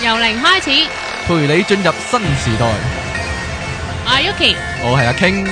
由零開始， 陪你進入新時代。 阿 Yuki， 我係阿 King。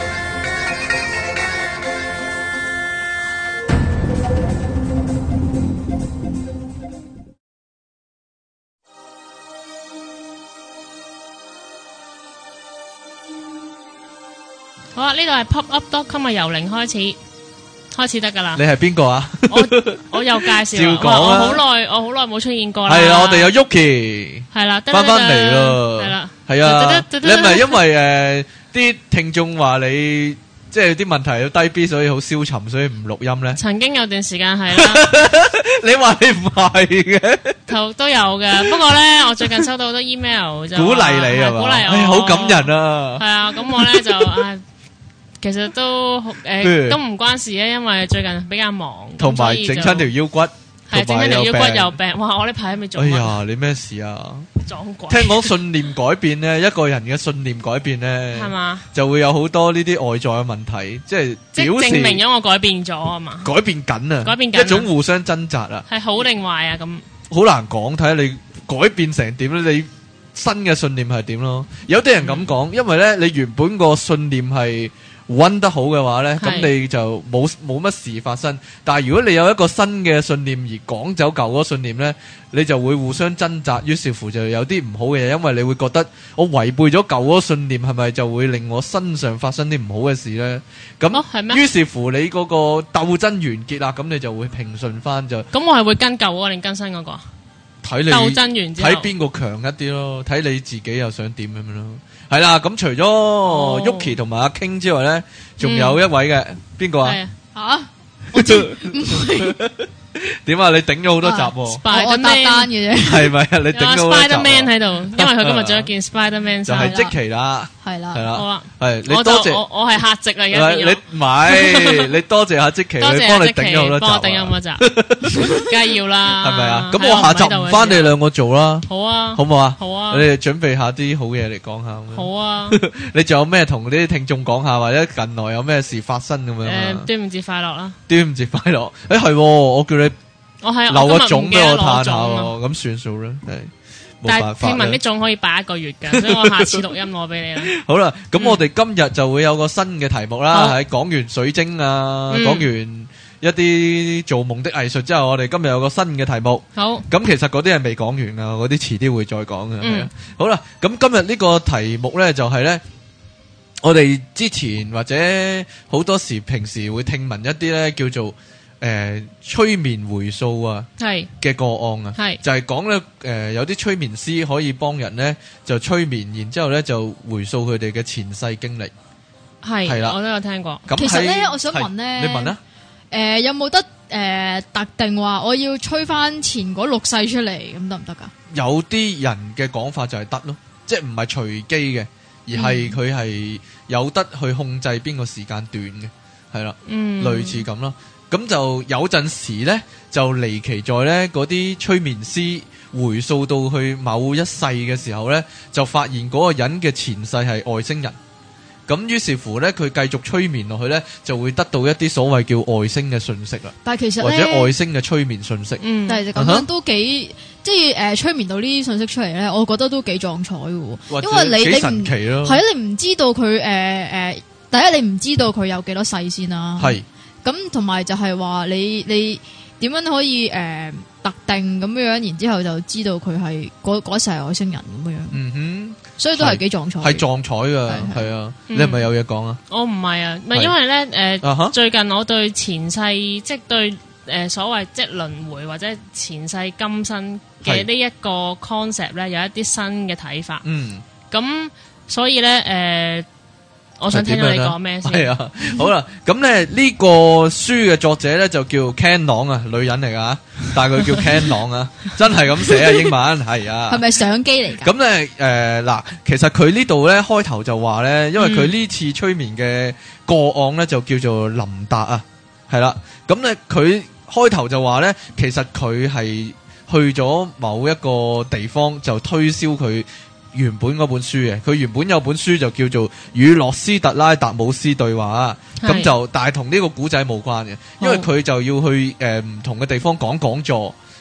好啦，呢度係 popup.com 嘅由零開始得噶啦。 你係邊個啊？ 我又介紹， 照講啊我好耐冇出現過啦。 係啊，我哋有 Yuki 係啦， 翻嚟咯。 係啦， 係啊，你係咪因為啲聽眾話你即係啲問題要低 B， 所以好消沉，所以唔錄音咧？ 曾經有段時間係啦， 你話你唔係嘅， 都有嘅。不過咧，我最近收到好多 email 就鼓勵你係嘛？ 鼓勵我， 好感人啊！ 係啊，咁我咧就其實都都唔關事咧，因為最近比較忙， 同埋整親條腰骨， 係整親條腰骨又病。哇！我呢排都未做。 哎呀，你咩事啊？ 撞鬼！ 聽講信念改變咧，一個人嘅信念改變咧， 係嘛， 就會有好多呢啲外在嘅問題，即係表示證明咗我改變咗啊嘛， 改變緊啊，一種互相掙扎啊， 係好定壞啊？咁好難講，睇下你改變成點咧，你新嘅信念係點咯？有啲人咁講，因為咧你原本個信念係溫得好嘅話呢，咁你就冇乜事發生。但係如果你有一個新嘅信念而趕走舊嗰個信念呢，你就會互相掙扎，於是乎就有啲唔好嘅嘢，因為你會覺得我違背咗舊嗰個信念，係咪就會令我身上發生啲唔好嘅事呢？咁於是乎你嗰個鬥爭完結啦，咁你就會平順翻就。 咁我係會跟舊嗰個定跟新嗰個？ 睇你鬥爭完之後， 睇邊個強一啲咯，睇你自己又想點咁樣咯。係啦，咁除咗 Yuki 同埋阿 King 之外咧，仲有一位嘅邊個啊？ 吓，我知唔係點啊？你頂咗好多集喎， 我搭單嘅啫， 係咪啊？你頂咗好多集 Spiderman 喺度，因為佢今日着一件 Spiderman 就係積淇啦， 係啦， 係啦， 好啊， 係你多謝我係客席啊，而家你唔係你多謝下積淇，佢幫你頂咗好多集， 幫我頂咗咁多集，梗係要啦， 係咪啊？咁我下集唔翻你兩個做啦， 好啊， 好唔好啊？ 好啊， 你哋準備下啲好嘢嚟講下， 好啊， 你仲有咩同啲聽眾講下，或者近來有咩事發生咁樣？ 端午節快樂啦！ 端午節快樂！係我叫你。 我係留個種俾我嘆下喎，咁算數啦，係冇辦法。 但係聽聞啲種可以擺1個月㗎，所以我下次錄音攞俾你啦。 好啦，咁我哋今日就會有個新嘅題目啦，係講完水晶啊，講完一啲做夢的藝術之後，我哋今日有個新嘅題目。好，咁其實嗰啲係未講完啊，嗰啲遲啲會再講嘅。好啦，咁今日呢個題目咧就係咧，我哋之前或者好多時平時會聽聞一啲咧叫做。催眠回溯啊，係嘅個案啊，係就係講咧，有啲催眠師可以幫人咧就催眠，然之後咧就回溯佢哋嘅前世經歷，係啦，我都有聽過。 其實咧，我想問咧， 你問啦， 有冇得特定話我要催翻前嗰6世出嚟，咁得唔得噶？ 有啲人嘅講法就係得咯，即係唔係隨機嘅，而係佢係有得去控制邊個時間段嘅，係啦，類似咁咯。咁就有陣時咧，就離奇在咧嗰啲催眠師回溯到去某一世嘅時候咧，就發現嗰個人嘅前世係外星人。咁於是乎咧，佢繼續催眠落去咧，就會得到一啲所謂叫外星嘅信息啦。 但係其實或者外星嘅催眠信息， 但係咁樣都幾即係催眠到呢啲信息出嚟咧，我覺得都幾壯彩嘅。因為你神奇咯， 係啊，你唔知道佢第一你唔知道佢有幾多世先啦。係。咁同埋就係話你點樣可以特定咁樣，然之後就知道佢係嗰世係外星人咁樣。嗯哼，所以都係幾壯彩，係壯彩噶，係啊。你係咪有嘢講啊？ 我唔係啊，唔係因為咧最近我對前世即係對所謂即係輪迴或者前世今生嘅呢一個 concept 咧有一啲新嘅睇法。嗯，咁所以咧我想聽到你講咩先？係啊， 好啦，咁咧呢個書嘅作者咧就叫 Ken 朗啊，女人嚟噶，但係佢叫 Ken 朗啊，真係咁寫啊，英文係啊。 係咪相機嚟噶？ 咁咧嗱，其實佢呢度咧開頭就話咧，因為佢呢次催眠嘅個案咧就叫做林達啊，係啦，咁咧佢開頭就話咧，其實佢係去咗某一個地方就推銷佢原本嗰本書嘅，佢原本有本書就叫做《與洛斯特拉達姆斯對話》，咁就但係同呢個古仔冇關嘅，因為佢就要去唔同嘅地方講講座，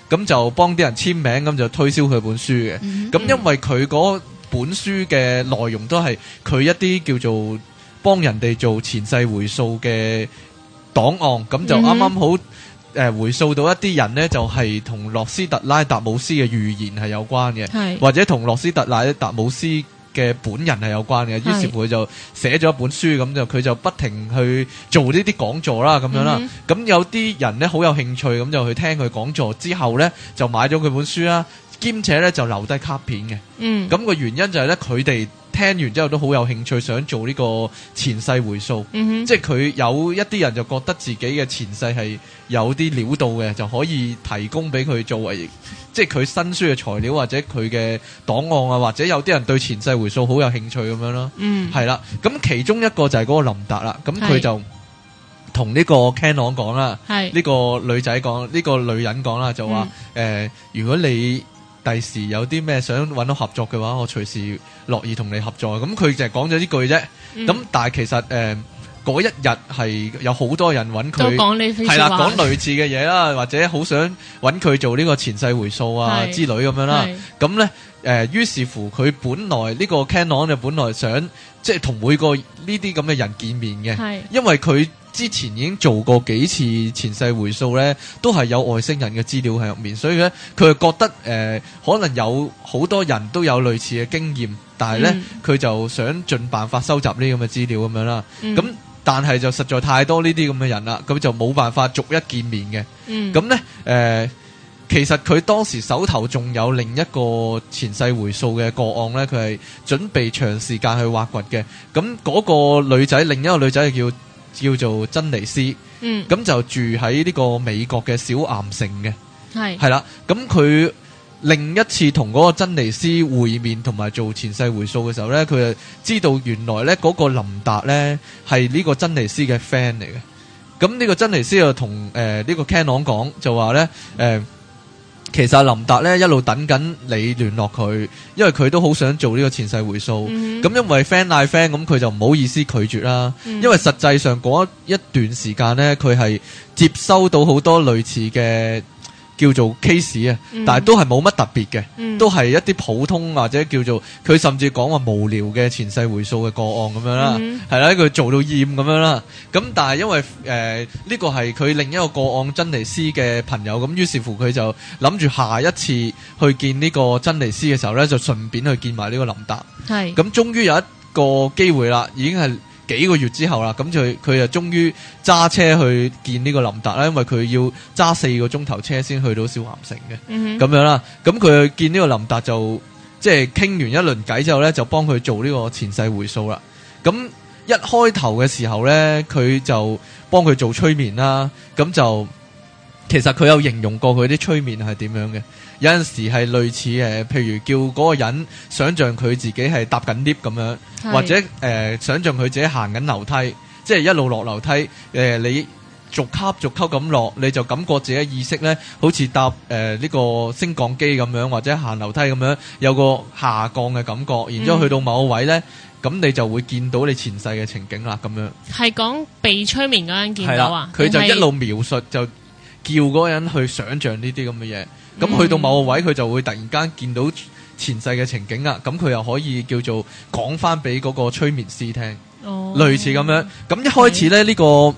咁就幫啲人簽名，咁就推銷佢本書嘅。咁因為佢嗰本書嘅內容都係佢一啲叫做幫人哋做前世回溯嘅檔案，咁就啱啱好回溯到一啲人呢，就係同諾斯特拉達姆斯嘅預言係有關嘅，或者同諾斯特拉達姆斯嘅本人係有關嘅。於是乎佢就寫咗一本書，咁就佢就不停去做呢啲講座啦，咁樣啦。咁有啲人呢好有興趣，咁就去聽佢講座之後呢，就買咗佢本書啦，兼且呢就留低卡片嘅。咁個原因就係呢，佢哋聽完之後都好有興趣，想做呢個前世回溯。即係佢有一啲人就覺得自己嘅前世係有啲料到嘅，就可以提供俾佢作為即係佢新書嘅材料，或者佢嘅檔案啊，或者有啲人對前世回溯好有興趣咁樣咯。係啦，咁其中一個就係嗰個林達啦，咁佢就同呢個 Canon 講啦，呢個女仔講，呢個女人講啦，就話如果你第時有啲咩想揾到合作嘅話，我隨時樂意同你合作。咁佢就係講咗呢句啫。咁但係其實嗰一日係有好多人揾佢，係啦，講類似嘅嘢啦，或者好想揾佢做呢個前世回溯啊之類咁樣啦。咁咧於是乎佢本來呢個 Canon 就本來想即係同每個呢啲咁嘅人見面嘅，因為佢之前已經做過幾次前世回溯咧，都係有外星人嘅資料喺入面，所以咧佢就覺得可能有好多人都有類似嘅經驗，但係咧佢就想盡辦法收集呢啲咁嘅資料咁樣啦。咁但係就實在太多呢啲咁嘅人啦，咁就冇辦法逐一見面嘅。咁咧其實佢當時手頭仲有另一個前世回溯嘅個案咧，佢係準備長時間去挖掘嘅。咁嗰個女仔，另一個女仔係叫做珍妮斯，咁就住喺呢個美國嘅小岩城嘅，係啦。咁佢另一次同嗰個珍妮斯會面同埋做前世回溯嘅時候咧，佢就知道原來咧嗰個林達咧係呢個珍妮斯嘅 friend 嚟嘅。咁呢個珍妮斯就同呢個 Canon 講，就話咧其實林達咧一路等緊你聯絡佢，因為佢都好想做呢個前世回溯。咁因為 friend 嗌 friend，咁佢就唔好意思拒絕啦。因為實際上嗰一段時間咧，佢係接收到好多類似嘅叫做 case 啊，但係都係冇乜特別嘅，都係一啲普通或者叫做佢甚至講話無聊嘅前世回溯嘅個案咁樣啦，係啦，佢做到厭咁樣啦。咁但係因為呢個係佢另一個個案珍妮斯嘅朋友，咁於是乎佢就諗住下一次去見呢個珍妮斯嘅時候咧，就順便去見埋呢個林達。係咁，終於有一個機會啦，已經係幾個月之後啦，咁佢就終於揸車去見呢個林達啦，因為佢要揸4個鐘頭車先去到小岩城嘅，咁樣啦。咁佢去見呢個林達就即係傾完一輪偈之後咧，就幫佢做呢個前世回溯啦。咁一開頭嘅時候咧，佢就幫佢做催眠啦。咁就其實佢有形容過佢啲催眠係點樣嘅。有陣時係類似譬如叫嗰個人想像佢自己係搭緊 lift 咁樣，或者想像佢自己行緊樓梯，即係一路落樓梯，你逐級咁落，你就感覺自己意識咧好似搭呢個升降機咁樣，或者行樓梯咁樣，有個下降嘅感覺，然之後去到某個位咧，咁你就會見到你前世嘅情景啦，咁樣。係講被催眠嗰陣見到啊？佢就一路描述，就叫嗰個人去想像呢啲咁嘅嘢。咁去到某個位，佢就會突然間見到前世嘅情景啦。咁佢又可以叫做講翻俾嗰個催眠師聽，類似咁樣。咁一開始咧，呢個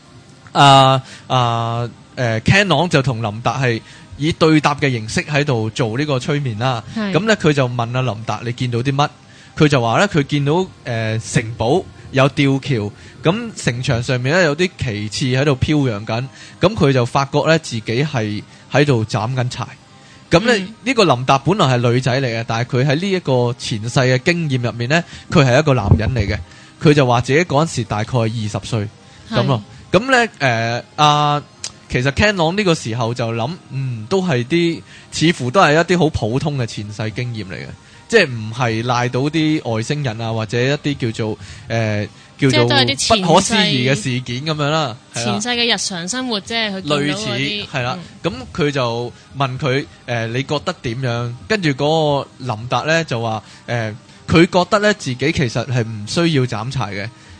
Canon 就同林達係以對答嘅形式喺度做呢個催眠啦。咁咧佢就問阿林達：你見到啲乜？佢就話咧，佢見到城堡有吊橋，咁城牆上面咧有啲旗幟喺度飄揚緊。咁佢就發覺咧自己係喺度斬緊柴。咁咧呢個林達本來係女仔嚟嘅，但係佢喺呢一個前世嘅經驗入面咧，佢係一個男人嚟嘅。佢就話自己嗰陣時大概係20歲咁咯。咁咧其實 Canon 呢個時候就諗，都係啲似乎都係一啲好普通嘅前世經驗嚟嘅，即係唔係賴到啲外星人啊，或者一啲叫做不可思議嘅事件咁樣啦。前世嘅日常生活，即係佢類似係啦。咁佢就問佢你覺得點樣？跟住嗰個林達咧就話佢覺得咧自己其實係唔需要斬柴嘅，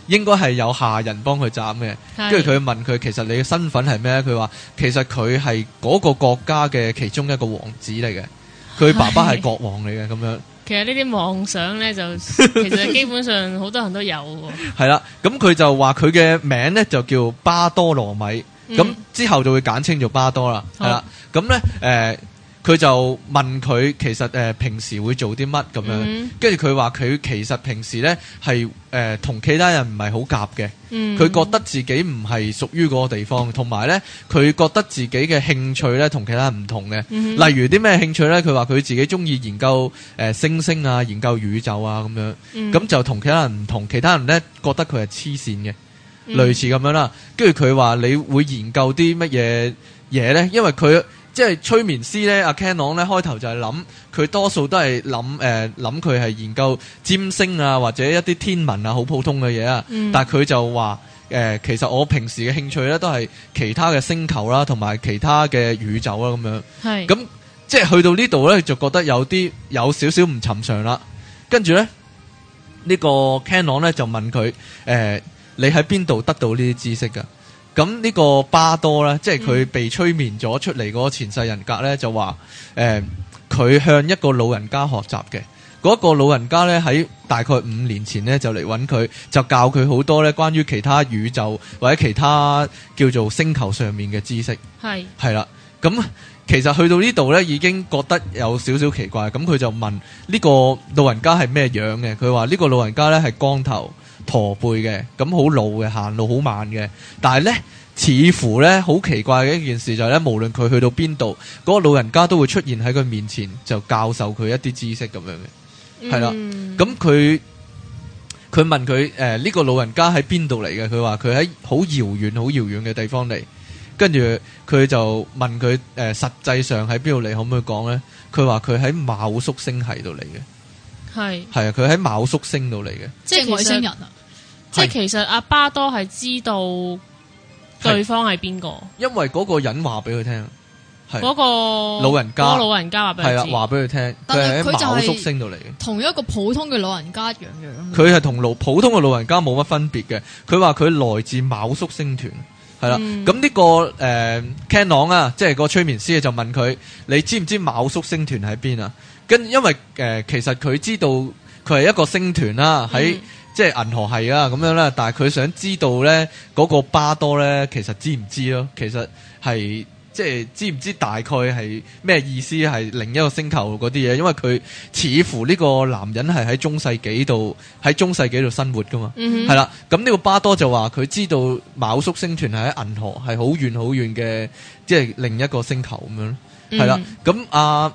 應該係有下人幫佢斬嘅。跟住佢問佢，其實你嘅身份係咩？佢話其實佢係嗰個國家嘅其中一個王子嚟嘅，佢爸爸係國王嚟嘅咁樣。 其實呢啲妄想咧，就其實基本上好多人都有喎。係啦，咁佢就話佢嘅名咧就叫巴多羅米，咁之後就會簡稱做巴多啦。係啦，咁咧佢就問佢其實平時會做啲乜咁樣，跟住佢話佢其實平時咧係同其他人唔係好夾嘅，佢覺得自己唔係屬於嗰個地方，同埋咧佢覺得自己嘅興趣咧同其他人唔同嘅，例如啲咩興趣咧？佢話佢自己中意研究星星啊，研究宇宙啊咁樣，咁就同其他人唔同，其他人咧覺得佢係黐線嘅，類似咁樣啦。跟住佢話你會研究啲乜嘢嘢咧？因為佢即係催眠師咧，阿 Canon 咧開頭就係諗，佢多數都係諗佢係研究占星啊，或者一啲天文啊，好普通嘅嘢啊。但係佢就話其實我平時嘅興趣咧都係其他嘅星球啦，同埋其他嘅宇宙啦咁樣。係咁即係去到呢度咧，就覺得有少少唔尋常啦。跟住咧呢個 Canon 咧就問佢你喺邊度得到呢啲知識㗎？咁呢個巴多咧，即係佢被催眠咗出嚟嗰個前世人格咧，就話佢向一個老人家學習嘅。嗰個老人家咧喺大概5年前咧就嚟揾佢，就教佢好多咧關於其他宇宙或者其他叫做星球上面嘅知識。係啦，咁其實去到呢度咧已經覺得有少少奇怪。咁佢就問呢個老人家係咩樣嘅？佢話呢個老人家咧係光頭駝背嘅，咁好老嘅，行路好慢嘅，但係咧似乎咧好奇怪嘅一件事就係咧，無論佢去到邊度，嗰個老人家都會出現喺佢面前，就教授佢一啲知識咁樣嘅，係啦。咁佢問佢呢個老人家喺邊度嚟嘅？佢話佢喺好遙遠嘅地方嚟，跟住佢就問佢實際上喺邊度嚟，可唔可以講咧？佢話佢喺昴宿星系度嚟嘅。係啊，佢喺昴宿星度嚟嘅， 即係外星人啊！ 即係其實阿巴多係知道對方係邊個， 因為嗰個人話俾佢聽，係嗰個老人家話俾佢知，係啦， 話俾佢聽，佢係喺昴宿星度嚟嘅， 同一個普通嘅老人家一樣樣。 佢係同普通嘅老人家冇乜分別嘅。佢話佢來自昴宿星團，係啦。咁呢個Canon 啊，即係個催眠師就問佢：你知唔知昴宿星團喺邊啊？因為其實佢知道佢係一個星團啦，喺即係銀河系啊咁樣啦，但係佢想知道咧嗰個巴多咧，其實知唔知咯？其實係即係知唔知大概係咩意思？係另一個星球嗰啲嘢，因為佢似乎呢個男人係喺中世紀度生活噶嘛，係啦。咁呢個巴多就話佢知道昴宿星團係喺銀河，係好遠嘅，即係另一個星球咁樣咯，係啦。咁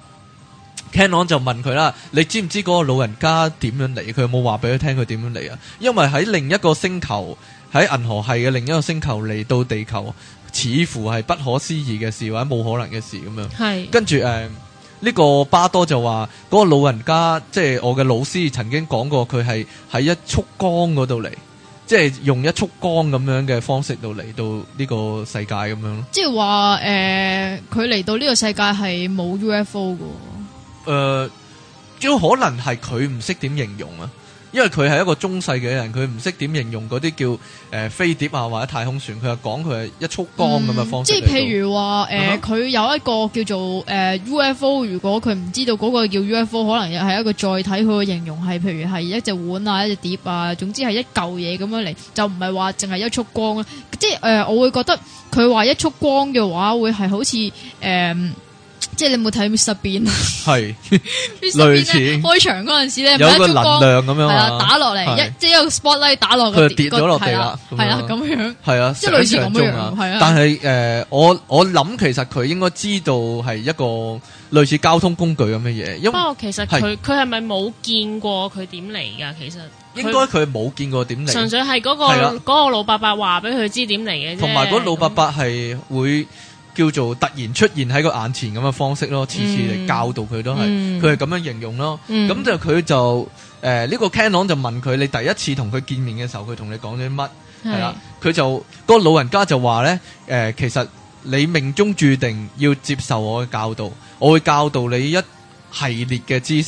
Canon 就問佢啦，你知唔知嗰個老人家點樣嚟？佢有冇話俾佢聽佢點樣嚟啊？因為喺另一個星球，喺銀河系嘅另一個星球嚟到地球，似乎係不可思議嘅事或者冇可能嘅事咁樣。係跟住呢個巴多就話嗰個老人家，即係我嘅老師曾經講過，佢係喺一束光嗰度嚟，即係用一束光咁樣嘅方式度嚟到呢個世界咁樣咯。即係話佢嚟到呢個世界係冇 UFO 噶。 主要可能係佢唔識點形容啊，因為佢係一個中世嘅人，佢唔識點形容嗰啲叫飛碟啊或者太空船，佢就講佢係一束光咁嘅方式。 即係譬如話佢有一個叫做UFO， 如果佢唔知道嗰個叫 UFO， 可能又係一個載體，佢嘅形容係譬如係一隻碗啊、一隻碟啊，總之係一嚿嘢咁樣嚟，就唔係話淨係一束光啊。即係我會覺得佢話一束光嘅話，會係好似即係你有冇睇 Mr. Bean？ 係類似開場嗰陣時咧，有個能量咁樣，係啦，打落嚟即係一個 spotlight 打落佢跌咗落地啦， 係啦咁樣， 係啊， 即係類似咁樣，係啊。 但係我諗其實佢應該知道係一個類似交通工具咁嘅嘢。不過其實佢係咪冇見過佢點嚟噶？其實應該佢冇見過點嚟， 純粹係嗰個老伯伯話俾佢知點嚟嘅啫。 同埋嗰老伯伯係會叫做突然出現喺個眼前咁嘅方式咯，次嚟教導佢都係，佢係咁樣形容咯。咁就佢就呢個 Canon 就問佢，你第一次同佢見面嘅時候，佢同你講咗啲乜？係啦，佢就嗰個老人家就話咧，其實你命中注定要接受我嘅教導，我會教導你一系列嘅知識，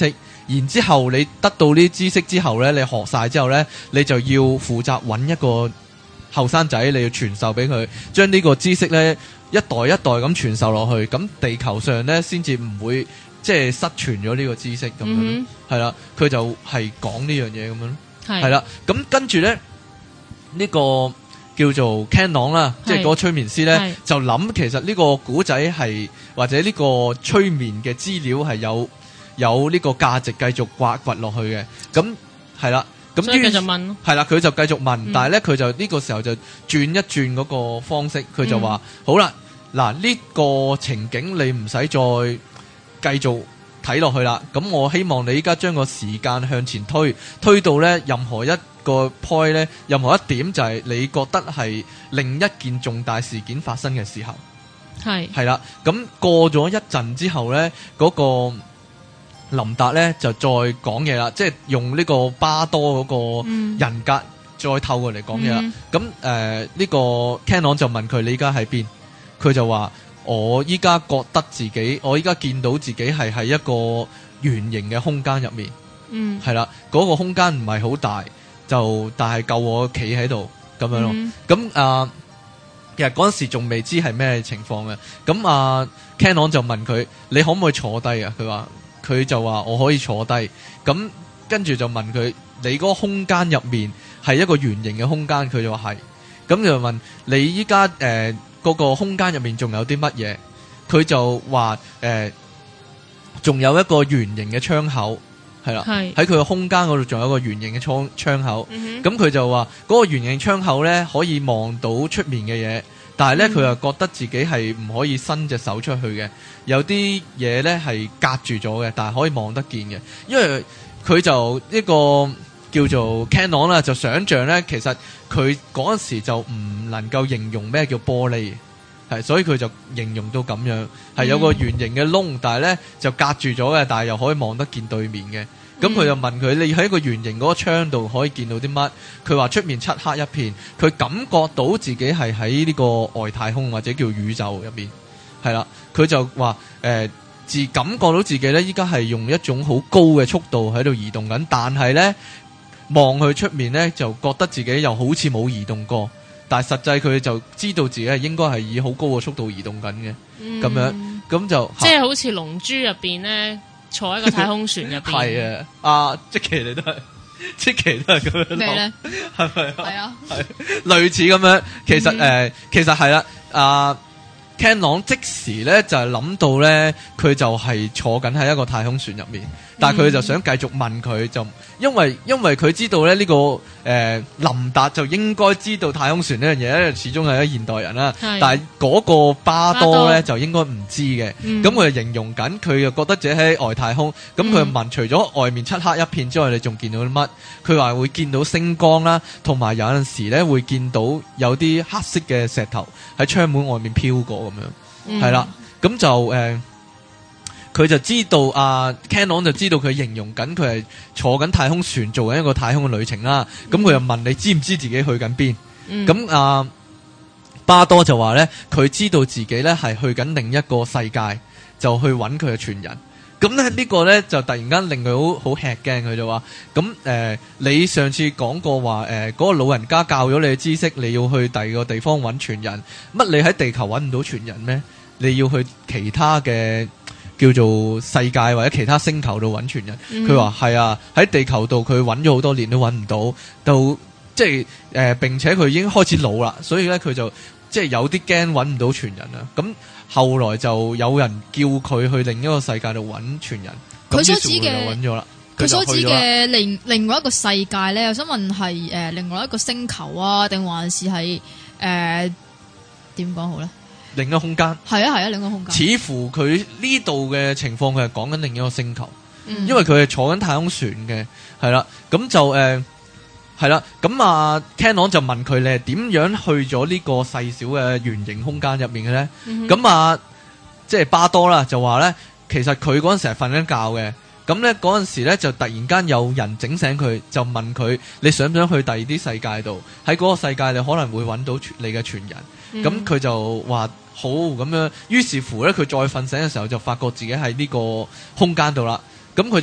然之後你得到呢啲知識之後咧，你學晒之後咧，你就要負責揾一個後生仔，你要傳授俾佢，將呢個知識咧一代一代咁傳授落去，咁地球上咧先至唔會即係失傳咗呢個知識咁樣，係啦，佢就係講呢樣嘢咁樣，係啦，咁跟住咧呢個叫做 Canon 啦，即係嗰個催眠師咧就諗其實呢個古仔係或者呢個催眠嘅資料係有呢個價值繼續挖掘落去嘅，咁係啦。咁所以繼續問咯， 係啦，佢就繼續問，但係咧佢就呢個時候就轉一轉嗰個方式，佢就話：好啦，嗱呢個情景你唔使再繼續睇落去啦。咁我希望你依家將個時間向前推到咧任何一個 point 咧，任何一點就係你覺得係另一件重大事件發生嘅時候，係啦。咁過咗一陣之後咧，嗰個林達咧就再講嘢啦，即係用呢個巴多嗰個人格再透過嚟講嘢啦。咁呢個 Canon 就問佢：你依家喺邊？佢就話：我依家覺得自己，我依家見到自己係喺一個圓形嘅空間入面。係啦，嗰個空間唔係好大，但係夠我企喺度咁樣咯。咁其實嗰陣時仲未知係咩情況嘅。咁Canon 就問佢：你可唔可以坐低啊？佢就話我可以坐低，咁跟住就問佢：你嗰個空間入面係一個圓形嘅空間？佢就話係，咁就問你依家嗰個空間入面仲有啲乜嘢？佢就話仲有一個圓形嘅窗口，係啦，喺佢個空間嗰度仲有一個圓形嘅窗口，咁佢就話嗰個圓形窗口咧可以望到出面嘅嘢。但係咧，佢又覺得自己係唔可以伸隻手出去嘅，有啲嘢咧係隔住咗嘅，但係可以望得見嘅。因為佢就一個叫做 Canon 啦，就想像咧，其實佢嗰陣時就唔能夠形容咩叫玻璃，係，所以佢就形容到咁樣，係有個圓形嘅窿，但係咧就隔住咗嘅，但係又可以望得見對面嘅。咁佢就問佢：你喺一個圓形嗰個窗度可以見到啲乜？佢話出面漆黑一片，佢感覺到自己係喺呢個外太空或者叫宇宙入面，係啦。佢就話自感覺到自己咧，依家係用一種好高嘅速度喺度移動緊，但係咧望去出面咧就覺得自己又好似冇移動過，但係實際佢就知道自己係應該係以好高嘅速度移動緊嘅，咁樣咁就即係好似龍珠入邊咧。坐喺個太空船入邊， 係啊，即其你都係，即其都係咁樣咩咧？ 係咪啊？ 係啊， 係類似咁樣。其實係啦，Canon 即時咧就係諗到咧，佢就係坐緊喺一個太空船入面，但係佢就想繼續問佢，就因為佢知道咧呢個林達就應該知道太空船呢樣嘢咧，始終係一現代人啦。但係嗰個巴多咧就應該唔知嘅。咁佢就形容緊，佢又覺得自己喺外太空。咁佢問，除咗外面漆黑一片之外，你仲見到啲乜？佢話會見到星光啦，同埋有陣時咧會見到有啲黑色嘅石頭喺窗門外面飄過咁樣，係啦。咁就佢就知道Canon 就知道佢形容緊佢係坐緊太空船做緊一個太空嘅旅程啦。咁佢又問你知唔知自己去緊邊？咁巴多就話咧，佢知道自己咧係去緊另一個世界，就去揾佢嘅傳人。咁咧呢個咧就突然間令佢好吃驚，佢就話：咁你上次講過話嗰個老人家教咗你嘅知識，你要去第二個地方揾傳人，乜你喺地球揾唔到傳人咩？你要去其他嘅叫做世界或者其他星球度揾傳人。佢話係啊，喺地球度佢揾咗好多年都揾唔到，到即係並且佢已經開始老啦，所以咧佢就即係有啲驚揾唔到傳人啦。咁後來就有人叫佢去另一個世界度揾傳人， 佢所指嘅揾咗啦。 佢所指嘅另外一個世界咧，我想問係另外一個星球啊，定還是係點講好咧？ 另一個空間係啊，另一個空間。 似乎佢呢度嘅情況，佢係講緊另一個星球，因為佢係坐緊太空船嘅，係啦。咁就係啦。咁Canon 就問佢，你係點樣去咗呢個細小嘅圓形空間入面嘅咧？咁即係巴多啦，就話咧，其實佢嗰陣時係瞓緊覺嘅。咁咧嗰陣時咧就突然間有人整醒佢，就問佢：你想唔想去第二啲世界度？喺嗰個世界你可能會揾到你嘅傳人。咁佢就話好咁樣。於是乎咧，佢再瞓醒嘅時候就發覺自己喺呢個空間度啦。咁佢就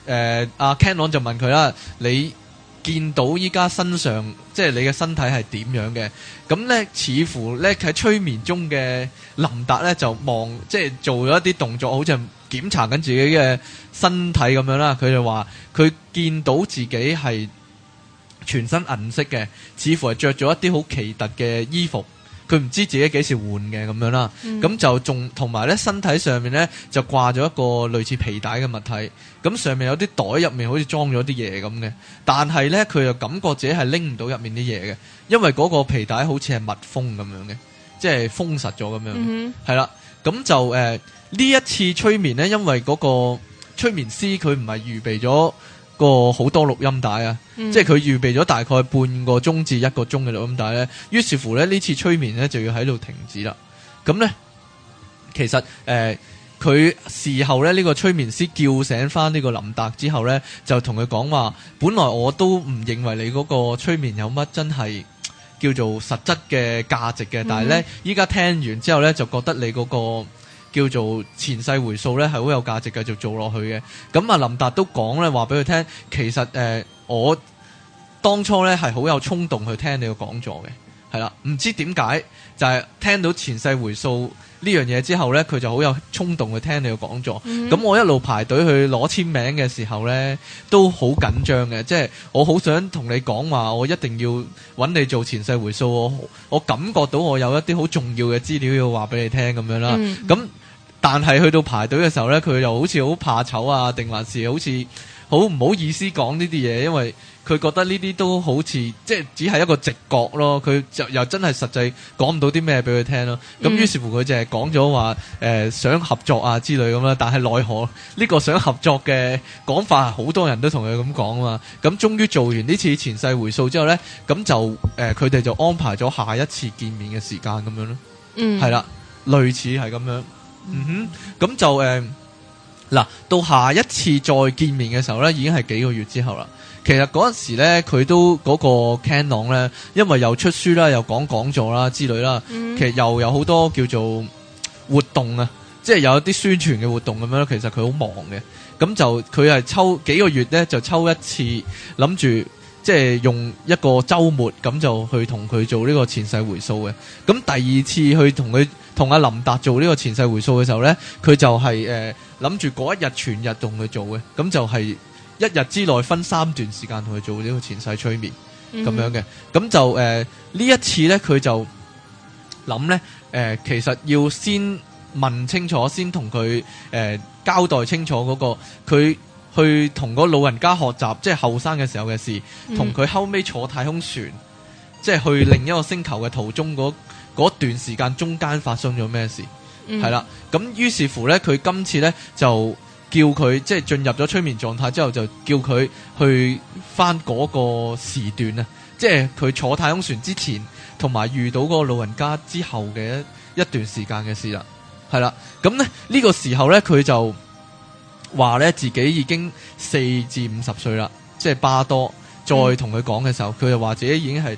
阿 Canon 就問佢啦，你見到依家身上即係你嘅身體係點樣嘅？咁咧似乎咧喺催眠中嘅林達咧就即係做咗一啲動作，好似檢查緊自己嘅身體咁樣啦。佢就話佢見到自己係全身銀色嘅，似乎係着咗一啲好奇特嘅衣服。佢唔知自己幾時換嘅咁樣啦，咁就仲同埋咧身體上面咧就掛咗一個類似皮帶嘅物體，咁上面有啲袋入面好似裝咗啲嘢咁嘅，但係咧佢又感覺自己係拎唔到入面啲嘢嘅，因為嗰個皮帶好似係密封咁樣嘅，即係封實咗咁樣，係啦，咁就呢一次催眠咧，因為嗰個催眠師佢唔係預備咗個好多錄音帶啊，即係佢預備咗大概半個鐘至1個鐘嘅錄音帶咧，於是乎咧呢次催眠咧就要喺度停止啦。咁咧其實佢事後咧呢個催眠師叫醒翻呢個林達之後咧，就同佢講話，本來我都唔認為你嗰個催眠有乜真係叫做實質嘅價值嘅，但係咧依家聽完之後咧就覺得你嗰個叫做前世回溯咧係好有價值繼續做落去嘅。咁啊林達都講咧話俾佢聽，其實我當初咧係好有衝動去聽你個講座嘅，係啦，唔知點解就係聽到前世回溯呢樣嘢之後咧，佢就好有衝動去聽你個講座。咁我一路排隊去攞簽名嘅時候咧，都好緊張嘅，即係我好想同你講話，我一定要揾你做前世回溯，我感覺到我有一啲好重要嘅資料要話俾你聽咁樣啦。咁但係去到排隊嘅時候咧，佢又好似好怕醜啊，定還是好似好唔好意思講呢啲嘢，因為佢覺得呢啲都好似即係只係一個直覺咯，佢就又真係實際講唔到啲咩俾佢聽咯。咁於是乎佢就係講咗話想合作啊之類咁啦，但係奈何呢個想合作嘅講法好多人都同佢咁講啊嘛。咁終於做完呢次前世回溯之後咧，咁就佢哋就安排咗下一次見面嘅時間咁樣咯。係啦，類似係咁樣。咁就嗱，到下一次再見面嘅時候咧，已經係幾個月之後啦。其實嗰陣時咧，佢都嗰個 Canon 咧，因為又出書啦，又講座啦之類啦，其實又有好多叫做活動啊，即係有一啲宣傳嘅活動咁樣。其實佢好忙嘅，咁就佢係抽幾個月咧，就抽一次，諗住即係用一個週末咁就去同佢做呢個前世回溯嘅。咁第二次去同阿林達做呢個前世回溯嘅時候咧，佢就係諗住嗰一日全日同佢做嘅，咁就係一日之內分3段時間同佢做呢個前世催眠咁樣嘅。咁就呢一次咧，佢就諗咧其實要先問清楚，先同佢交代清楚嗰個佢去同嗰老人家學習，即係後生嘅時候嘅事，同佢後尾坐太空船，即係去另一個星球嘅途中嗰段時間中間發生咗咩事，係啦。咁於是乎咧，佢今次咧就叫佢即係進入咗催眠狀態之後，就叫佢去翻嗰個時段啊，即係佢坐太空船之前同埋遇到嗰個老人家之後嘅一段時間嘅事啦，係啦。咁咧呢個時候咧，佢就話咧自己已經4至50歲啦，即係巴多。再同佢講嘅時候，佢就話自己已經係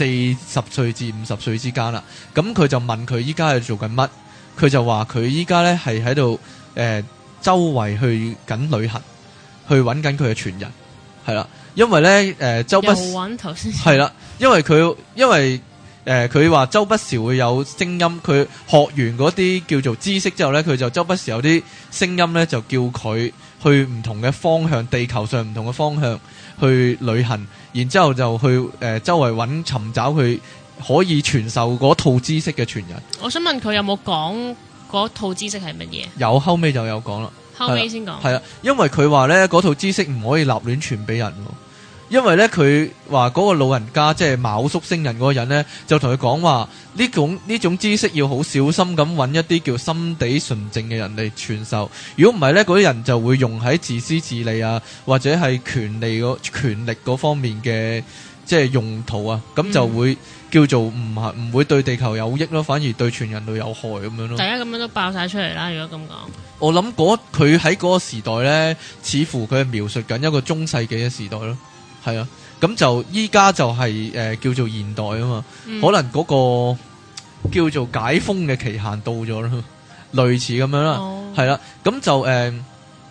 40歲至50歲之間啦。咁佢就問佢依家係做緊乜？佢就話佢依家咧係喺度周圍去緊旅行，去揾緊佢嘅傳人，係啦。因為咧周不時係啦，因為佢話周不時會有聲音，佢學完嗰啲叫做知識之後咧，佢就周不時有啲聲音咧，就叫佢去唔同嘅方向，地球上唔同嘅方向去旅行，然之後就去周圍尋找佢可以傳授嗰套知識嘅傳人。 我想問佢有冇講嗰套知識係乜嘢？ 有，後尾就有講啦。 後尾先講。係啦，因為佢話咧嗰套知識唔可以立亂傳俾人喎。因為咧，佢話嗰個老人家即係昴宿星人嗰個人咧，就同佢講話呢種知識要好小心咁揾一啲叫心地純正嘅人嚟傳授。如果唔係咧，嗰啲人就會用喺自私自利啊，或者係權力嗰方面嘅即係用途啊，咁就會叫做唔會對地球有益咯，反而對全人類有害咁樣咯。 大家咁樣都爆晒出嚟啦！如果咁講， 我諗佢喺嗰個時代咧，似乎佢係描述緊一個中世紀嘅時代咯。係啊，咁就依家就係叫做現代啊嘛，可能嗰個叫做解封嘅期限到咗啦，類似咁樣啦，係啦，咁就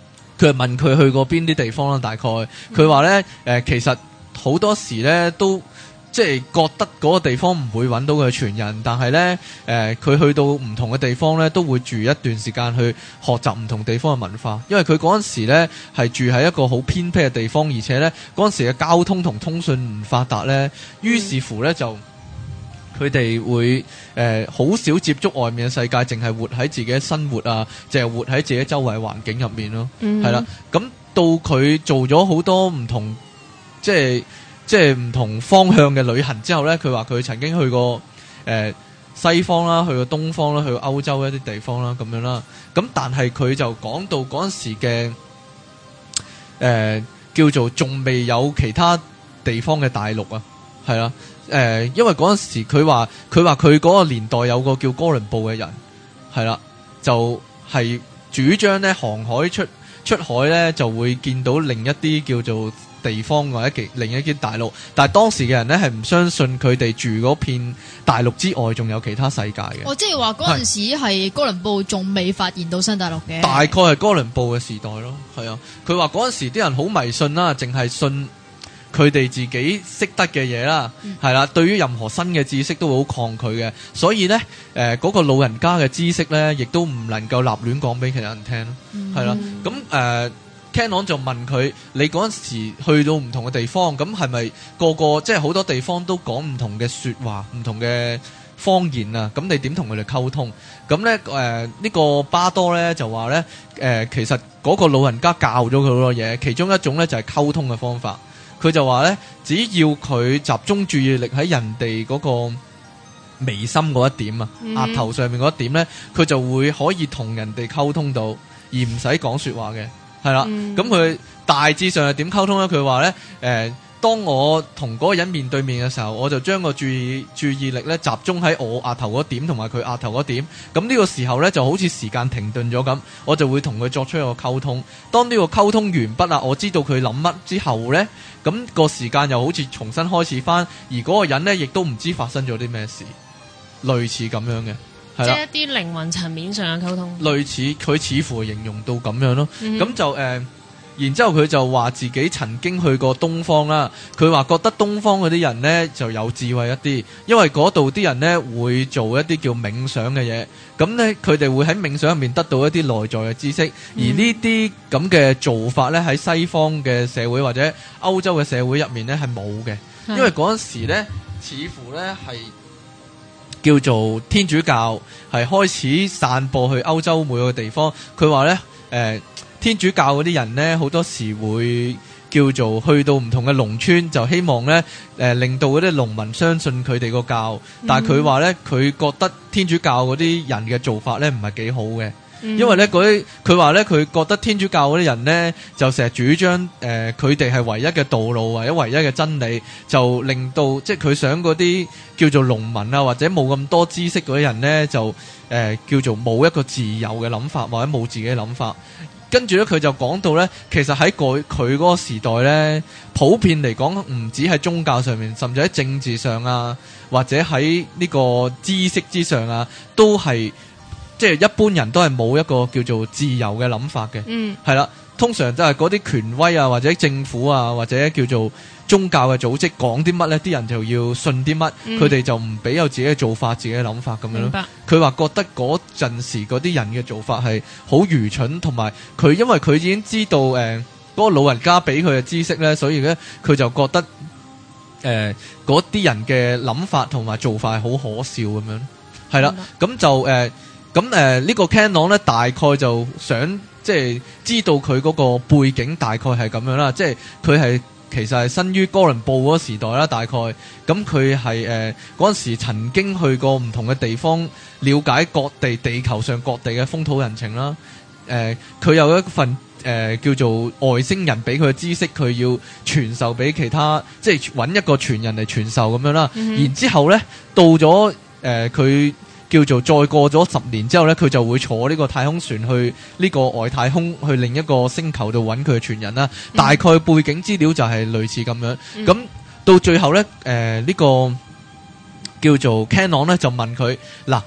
佢係問佢去過邊啲地方啦，大概佢話咧其實好多時咧都即係覺得嗰個地方唔會揾到佢嘅傳人，但係咧佢去到唔同嘅地方咧都會住一段時間去學習唔同地方嘅文化，因為佢嗰陣時咧係住喺一個好偏僻嘅地方，而且咧嗰陣時嘅交通同通訊唔發達咧，於是乎咧就佢哋會好少接觸外面嘅世界，淨係活喺自己嘅生活啊，淨係活喺自己周圍環境入面咯，係啦。咁到佢做咗好多唔同即係唔同方向嘅旅行之後咧，佢話佢曾經去過西方啦，去過東方啦，去過歐洲一啲地方啦，咁樣啦。咁但係佢就講到嗰陣時嘅叫做仲未有其他地方嘅大陸啊，係啦。因為嗰陣時佢話佢嗰個年代有個叫哥倫布嘅人，係啦，就係主張咧航海出海咧就會見到另一啲叫做地方或者另一啲大陸，但係當時嘅人咧係唔相信佢哋住嗰片大陸之外仲有其他世界嘅。即係話嗰陣時係哥倫布仲未發現到新大陸嘅，大概係哥倫布嘅時代咯。係啊，佢話嗰陣時啲人好迷信啦，淨係信佢哋自己識得嘅嘢啦，係啦，對於任何新嘅知識都會好抗拒嘅，所以咧嗰個老人家嘅知識咧，亦都唔能夠立亂講俾其他人聽咯，係啦。咁Canon 就問佢：你嗰陣時去到唔同嘅地方，咁係咪個即係好多地方都講唔同嘅説話、唔同嘅方言啊？咁你點同佢哋溝通？咁咧呢個巴多咧就話咧其實嗰個老人家教咗佢好多嘢，其中一種咧就係溝通嘅方法。佢就話咧，只要佢集中注意力喺人哋嗰個眉心嗰一點啊，額頭上面嗰一點咧，佢就會可以同人哋溝通到，而唔使講説話嘅。係啦，咁佢大致上係點溝通咧？佢話咧，當我同嗰個人面對面嘅時候，我就將個注意力咧集中喺我額頭嗰點同埋佢額頭嗰點。咁呢個時候咧就好似時間停頓咗咁，我就會同佢作出一個溝通。當呢個溝通完畢啦，我知道佢諗乜之後咧，咁個時間又好似重新開始翻，而嗰個人咧亦都唔知發生咗啲咩事，類似咁樣嘅。即係一啲靈魂層面上嘅溝通，類似佢似乎形容到咁樣咯。咁就然之後佢就話自己曾經去過東方啦。佢話覺得東方嗰啲人呢就有智慧一啲，因為嗰度啲人呢會做一啲叫冥想嘅嘢。咁呢佢哋會喺冥想入面得到一啲內在嘅知識，而呢啲咁嘅做法呢喺西方嘅社會或者歐洲嘅社會入面呢係冇嘅，因為嗰陣時呢似乎呢係叫做天主教係開始散播去歐洲每個地方。佢話咧，天主教嗰啲人咧，好多時會叫做去到唔同嘅農村，就希望咧，令到嗰啲農民相信佢哋個教。但係佢話咧，佢覺得天主教嗰啲人嘅做法咧唔係幾好嘅。因為咧佢話咧，佢覺得天主教嗰啲人咧就成日主張佢哋係唯一嘅道路或者唯一嘅真理，就令到即係佢想嗰啲叫做農民啊或者冇咁多知識嗰啲人咧就叫做冇一個自由嘅諗法或者冇自己嘅諗法。跟住咧佢就講到咧，其實喺佢嗰個時代咧，普遍嚟講唔止喺宗教上面，甚至喺政治上啊或者喺呢個知識之上啊，都係。即係一般人都係冇一個叫做自由嘅諗法嘅，係啦。通常都係嗰啲權威啊，或者政府啊，或者叫做宗教嘅組織講啲乜呢，啲人就要信啲乜，佢哋就唔俾有自己嘅做法、自己嘅諗法咁樣咯。佢話覺得嗰陣時嗰啲人嘅做法係好愚蠢，同埋佢因為佢已經知道嗰個老人家俾佢嘅知識呢，所以呢，佢就覺得嗰啲人嘅諗法同埋做法係好可笑咁樣，係啦。咁就呢個 Canon 咧，大概就想即係知道佢嗰個背景大概係咁樣啦，即係佢係其實係生於哥倫布嗰個時代啦，大概咁佢係嗰陣時曾經去過唔同嘅地方，了解各地球上各地嘅風土人情啦。佢有一份叫做外星人俾佢嘅知識，佢要傳授俾其他，即係揾一個傳人嚟傳授咁樣啦。然之後咧，到咗佢。叫做再過咗10年之後呢，佢就會坐呢個太空船去呢個外太空，去另一個星球度揾佢嘅傳人啦。大概背景資料就係類似咁樣。咁到最後呢，呢個叫做 Canon 呢就問佢嗱，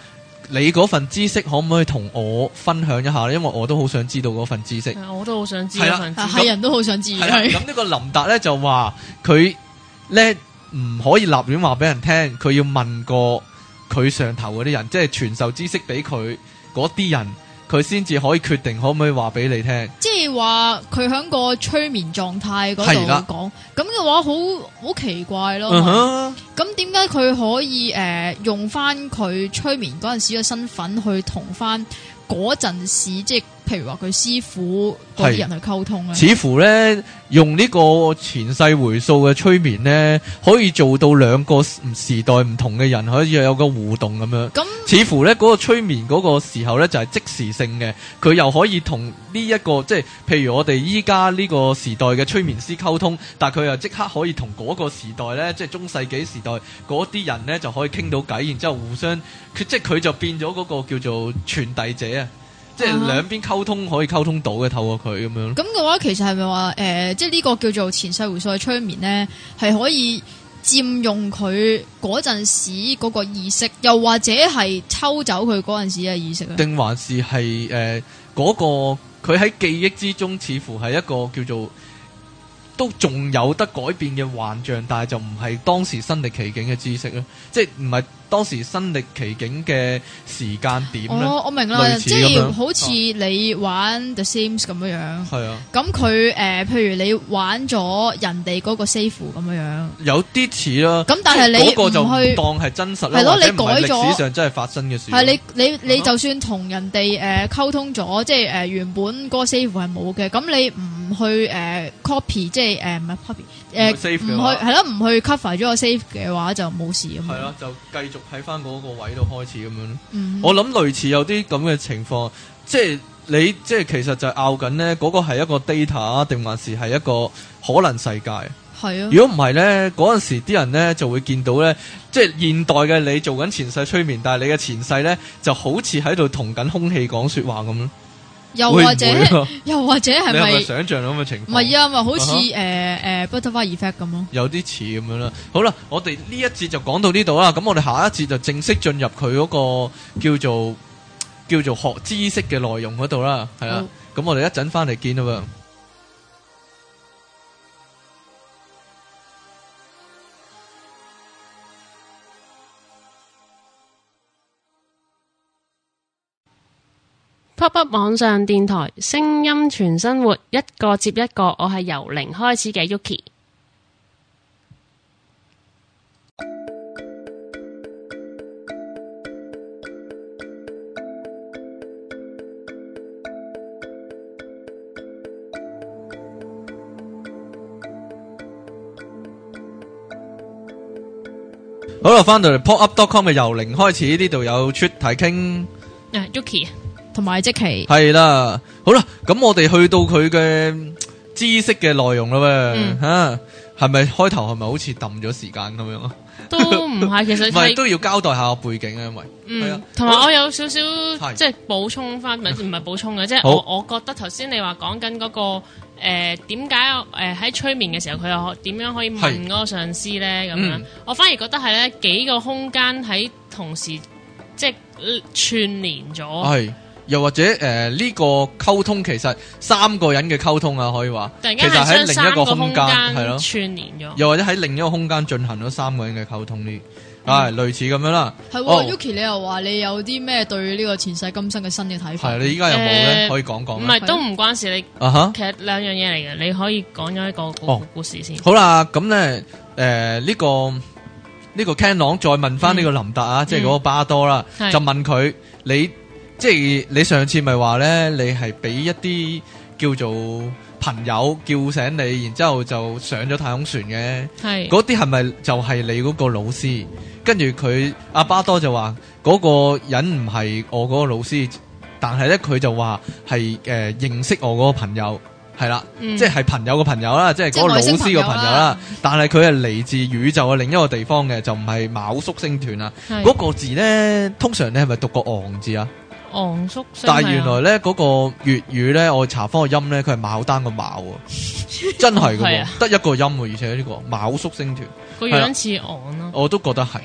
你嗰份知識可唔可以同我分享一下咧？因為我都好想知道嗰份知識。 我都好想知嗰份知識。 係人都好想知。 咁呢個林達咧就話佢咧唔可以立亂話俾人聽，佢要問過佢上頭嗰啲人，即係傳授知識俾佢嗰啲人，佢先至可以決定可唔可以話俾你聽。 即係話佢喺個催眠狀態嗰度講，咁嘅話好奇怪咯。咁點解佢可以用翻佢催眠嗰陣時嘅身份去同翻嗰陣時，即係譬如話佢師傅嗰啲人去溝通咧？ 似乎咧用呢個前世回溯嘅催眠咧，可以做到兩個時代唔同嘅人可以有個互動咁樣。似乎咧嗰個催眠嗰個時候咧就係即時性嘅，佢又可以同呢一個即係譬如我哋依家呢個時代嘅催眠師溝通，但係佢又即刻可以同嗰個時代咧，即係中世紀時代嗰啲人咧就可以傾到偈，然之後互相即係佢就變咗嗰個叫做傳遞者啊！即係兩邊溝通可以溝通到嘅，透過佢咁樣。咁嘅話，其實係咪話即係呢個叫做前世回溯嘅催眠咧，係可以佔用佢嗰陣時嗰個意識，又或者係抽走佢嗰陣時嘅意識啊？ 定還是係嗰個佢喺記憶之中，似乎係一個叫做都仲有得改變嘅幻象，但係就唔係當時身歷其境嘅知識咧，即係唔係當時身歷其境嘅時間點咧。 我明啦，即係好似你玩 The Sims 咁樣樣。係啊。咁佢譬如你玩咗人哋嗰個 save 咁樣樣，有啲似啦。咁但係你嗰個就唔當係真實啦， 係咯，你改咗歷史上真係發生嘅事。 係你就算同人哋溝通咗，即係原本嗰個 save 係冇嘅，咁你唔去copy，即係唔係 copy 唔去係咯，唔去 cover 咗個 save 嘅話就冇事咁。 係咯，就繼續喺翻嗰個位度開始咁樣。我諗類似有啲咁嘅情況，即係你即係其實就拗緊呢嗰個係一個 data 定還是係一個可能世界？係啊。如果唔係呢，嗰陣時啲人呢就會見到呢，即係現代嘅你做緊前世催眠，但係你嘅前世呢就好似喺度同緊空氣講說話咁咯。又或者係咪想象到咁嘅情況？唔係啊，咪好似Butterfly Effect 咁咯。有啲似咁樣啦。好啦，我哋呢一節就講到呢度啦。咁我哋下一節就正式進入佢嗰個叫做學知識嘅內容嗰度啦。係啦，咁我哋一陣翻嚟見啦。 Pop Up 網上電台，聲音全生活，一個接一個。我係由零開始嘅 Yuki。 好啦，翻到嚟 popup.com 嘅由零開始，呢度有出題傾 ，Yuki。 同埋即期係啦，好啦，咁我哋去到佢嘅知識嘅內容啦喎，吓係咪開頭係咪好似抌咗時間咁樣啊？ 都唔係，其實係都要交代下個背景啊，因為係啊， 同埋我有少少即係補充翻，唔係補充嘅，即係我覺得頭先你話講緊嗰個點解喺催眠嘅時候佢又點樣可以問嗰個上司咧咁樣，我反而覺得係咧幾個空間喺同時即係串連咗。 又或者呢個溝通其實三個人嘅溝通啊，可以話其實喺另一個空間係咯串連咗， 又或者喺另一個空間進行咗三個人嘅溝通呢，類似咁樣啦。 係Yuki，你又話你有啲咩對呢個前世今生嘅新嘅睇法？ 係你依家有冇咧？可以講講。 唔係都唔關事，你其實兩樣嘢嚟嘅，你可以講咗一個故事先。 好啦，咁咧呢個 Canon 再問翻呢個林達啊，即係嗰個巴多啦，就問佢你。即係你上次咪話咧，你係俾一啲叫做朋友叫醒你，然之後就上咗太空船嘅，嗰啲係咪就係你嗰個老師？跟住佢阿巴多就話嗰個人唔係我嗰個老師，但係咧佢就話係認識我嗰個朋友，係啦，即係朋友嘅朋友啦，即係嗰個老師嘅朋友啦。但係佢係嚟自宇宙嘅另一個地方嘅，就唔係昴宿星團啊。嗰個字咧，通常你係咪讀個昂字啊？ 昂宿， 但係原來咧嗰個粵語咧，我查翻個音咧，佢係牡丹個牡，真係噶，得一個音，而且呢個昴宿星團個樣似昂咯， 我都覺得係，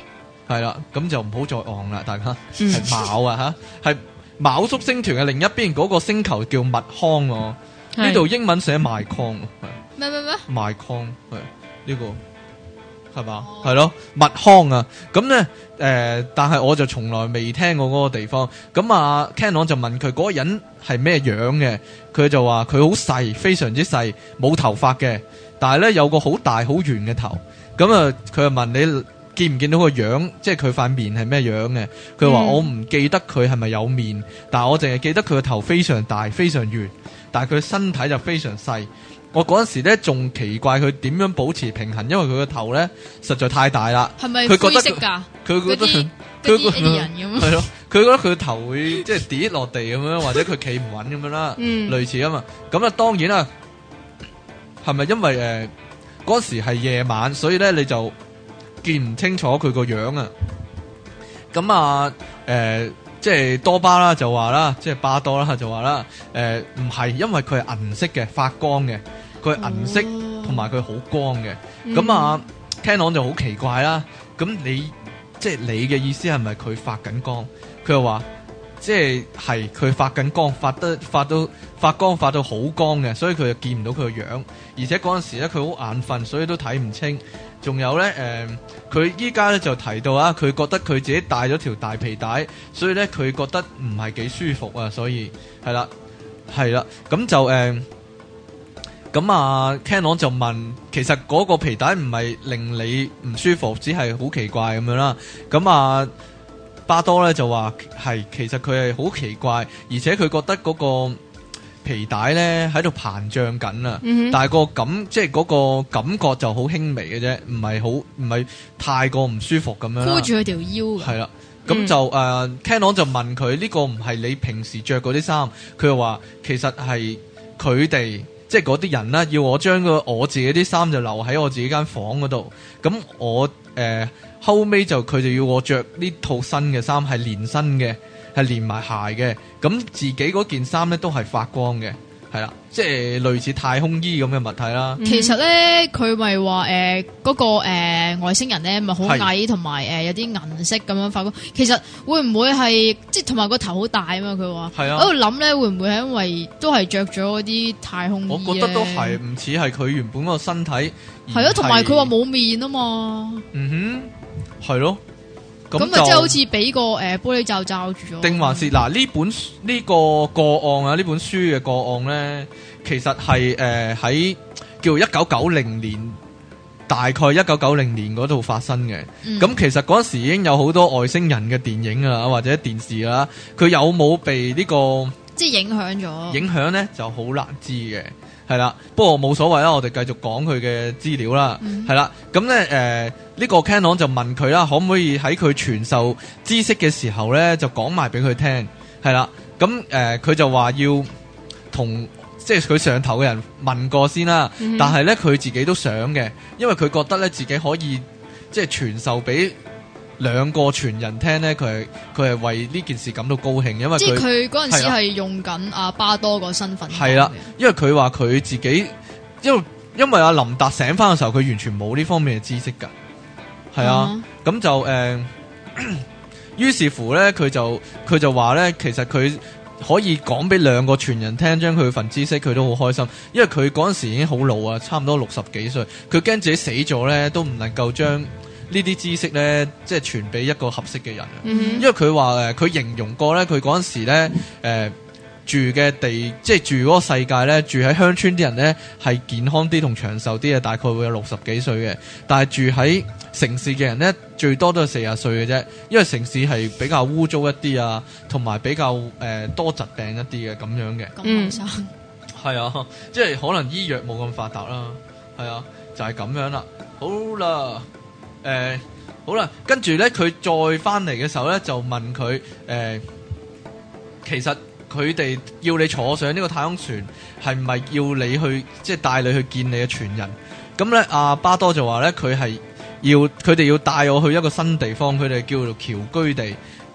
係啦，咁就唔好再昂啦，大家係昴啊吓，係昴宿星團嘅另一邊嗰個星球叫密康喎，呢度英文寫麥康， 咩麥康係呢個係嘛？係咯，密康啊，咁咧但係我就從來未聽過嗰個地方。咁啊 Canon 就問佢嗰個人係咩樣嘅，佢就話佢好細，非常之細，冇頭髮嘅，但係咧有個好大好圓嘅頭。咁啊，佢就問你見唔見到個樣，即係佢塊面係咩樣嘅？佢話我唔記得佢係咪有面，但係我淨係記得佢個頭非常大，非常圓，但係佢身體就非常細。我嗰陣時咧仲奇怪佢點樣保持平衡，因為佢個頭咧實在太大啦。 係咪灰色㗎？ 佢覺得啲人咁係咯，佢覺得佢個頭會即係跌落地咁樣，或者佢企唔穩咁樣啦，類似啊嘛。咁啊，當然啦，係咪因為嗰時係夜晚，所以咧你就見唔清楚佢個樣啊？咁啊，即係多巴啦就話啦，即係巴多啦就話啦，唔係，因為佢係銀色嘅，發光嘅，佢係銀色同埋佢好光嘅。咁啊 Canon 就好奇怪啦。咁即係你嘅意思係咪佢發緊光？佢就話即係佢發緊光，發光發到好光嘅，所以佢就見唔到佢個樣。而且嗰陣時咧佢好眼瞓，所以都睇唔清。仲有咧佢依家咧就提到啊，佢覺得佢自己帶咗條大皮帶，所以咧佢覺得唔係幾舒服啊，所以係啦，咁就咁啊 Canon 就問，其實嗰個皮帶唔係令你唔舒服，只係好奇怪咁樣啦。咁啊巴多咧就話係，其實佢係好奇怪，而且佢覺得嗰個皮帶咧喺度膨脹緊啊，但係即係嗰個感覺就好輕微嘅啫，唔係太過唔舒服咁樣啦。 箍住佢條腰。係啦，咁就Canon 就問佢呢個唔係你平時着嗰啲衫，佢就話其實係佢哋即係嗰啲人啦，要我將我自己啲衫就留喺我自己間房嗰度，咁我後尾佢就要我着呢套新嘅衫，係連身嘅，係連埋鞋嘅，咁自己嗰件衫咧都係發光嘅，係啦，即係類似太空衣咁嘅物體啦。 其實咧，佢咪話嗰個外星人咧，咪好矮，同埋有啲銀色咁樣發光。其實會唔會係即係同埋個頭好大啊嘛？佢話係啊，喺度諗咧，會唔會係因為都係着咗嗰啲太空衣？ 我覺得都係，唔似係佢原本個身體。 係咯，同埋佢話冇面啊嘛。 係咯。 咁咪即係好似俾個玻璃罩罩住咗。定還是嗱呢個個案啊？呢本書嘅個案咧，其實係喺叫1990年，大概1990年嗰度發生嘅。咁其實嗰時已經有好多外星人嘅電影啊，或者電視啦，佢有冇被呢個即係影響咗？影響咧就好難知嘅。係啦，不過冇所謂啦，我哋繼續講佢嘅資料啦。係啦，咁咧呢個 Canon 就問佢啦，可唔可以喺佢傳授知識嘅時候咧，就講埋俾佢聽？係啦，咁佢就話要同即係佢上頭嘅人問過先啦。但係咧佢自己都想嘅，因為佢覺得咧自己可以即係傳授俾兩個傳人聽咧，佢係為呢件事感到高興，因為即係佢嗰陣時係用緊阿巴多個身份。 係啦，因為佢話佢自己，因為阿林達醒翻嘅時候，佢完全冇呢方面嘅知識噶。係啊，咁就於是乎咧，佢就話咧，其實佢可以講俾兩個傳人聽，將佢份知識，佢都好開心，因為佢嗰陣時已經好老啊，差唔多60幾歲，佢驚自己死咗咧，都唔能夠將呢啲知識咧，即係傳俾一個合適嘅人。因為佢話佢形容過咧，佢嗰陣時咧住嘅地，即係住嗰個世界咧，住喺鄉村啲人咧係健康啲同長壽啲嘅，大概會有60幾歲嘅。但係住喺城市嘅人咧，最多都係40歲嘅啫。因為城市係比較污糟一啲啊，同埋比較多疾病一啲嘅咁樣嘅。 咁生係啊，即係可能醫藥冇咁發達啦。係啊，就係咁樣啦。好啦。好啦，跟住咧，佢再翻嚟嘅時候咧，就問佢其實佢哋要你坐上呢個太空船，係唔係要你去即係帶你去見你嘅傳人？咁咧，阿巴多就話咧，佢哋要帶我去一個新地方，佢哋叫做僑居地。佢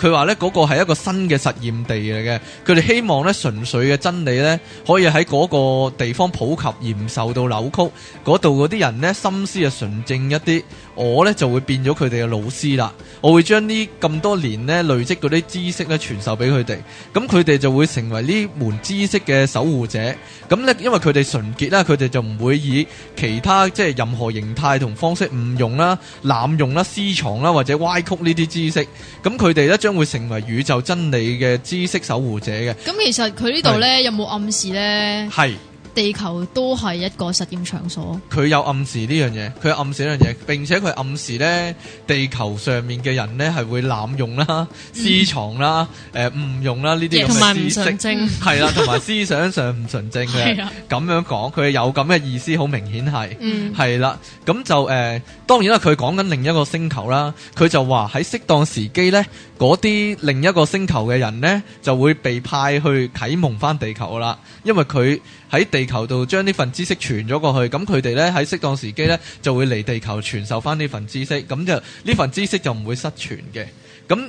佢話咧嗰個係一個新嘅實驗地嚟嘅，佢哋希望咧純粹嘅真理咧可以喺嗰個地方普及而唔受到扭曲，嗰度嗰啲人咧心思啊純正一啲，我咧就會變咗佢哋嘅老師啦，我會將呢咁多年咧累積嗰啲知識咧傳授俾佢哋，咁佢哋就會成為呢門知識嘅守護者。咁咧因為佢哋純潔啦，佢哋就唔會以其他即係任何形態同方式誤用啦、濫用啦、私藏啦或者歪曲呢啲知識，咁佢哋咧將會成為宇宙真理嘅知識守護者嘅。 咁其實佢呢度咧有冇暗示咧？係。地球都係一個實驗場所。佢有暗示呢樣嘢，佢有暗示呢樣嘢，並且佢暗示呢地球上面嘅人呢係會濫用啦、私藏啦、誤用啦呢啲咁嘅知識，係啦，同埋思想上唔純正嘅。咁樣講，佢有咁嘅意思，好明顯係，係啦。咁就當然啦，佢講緊另一個星球啦，佢就話喺適當時機呢，嗰啲另一個星球嘅人呢就會被派去啟蒙翻地球啦，因為佢喺地球度將呢份知識傳咗過去，咁佢哋咧喺適當時機咧就會嚟地球傳授翻呢份知識，咁就呢份知識就唔會失傳嘅。咁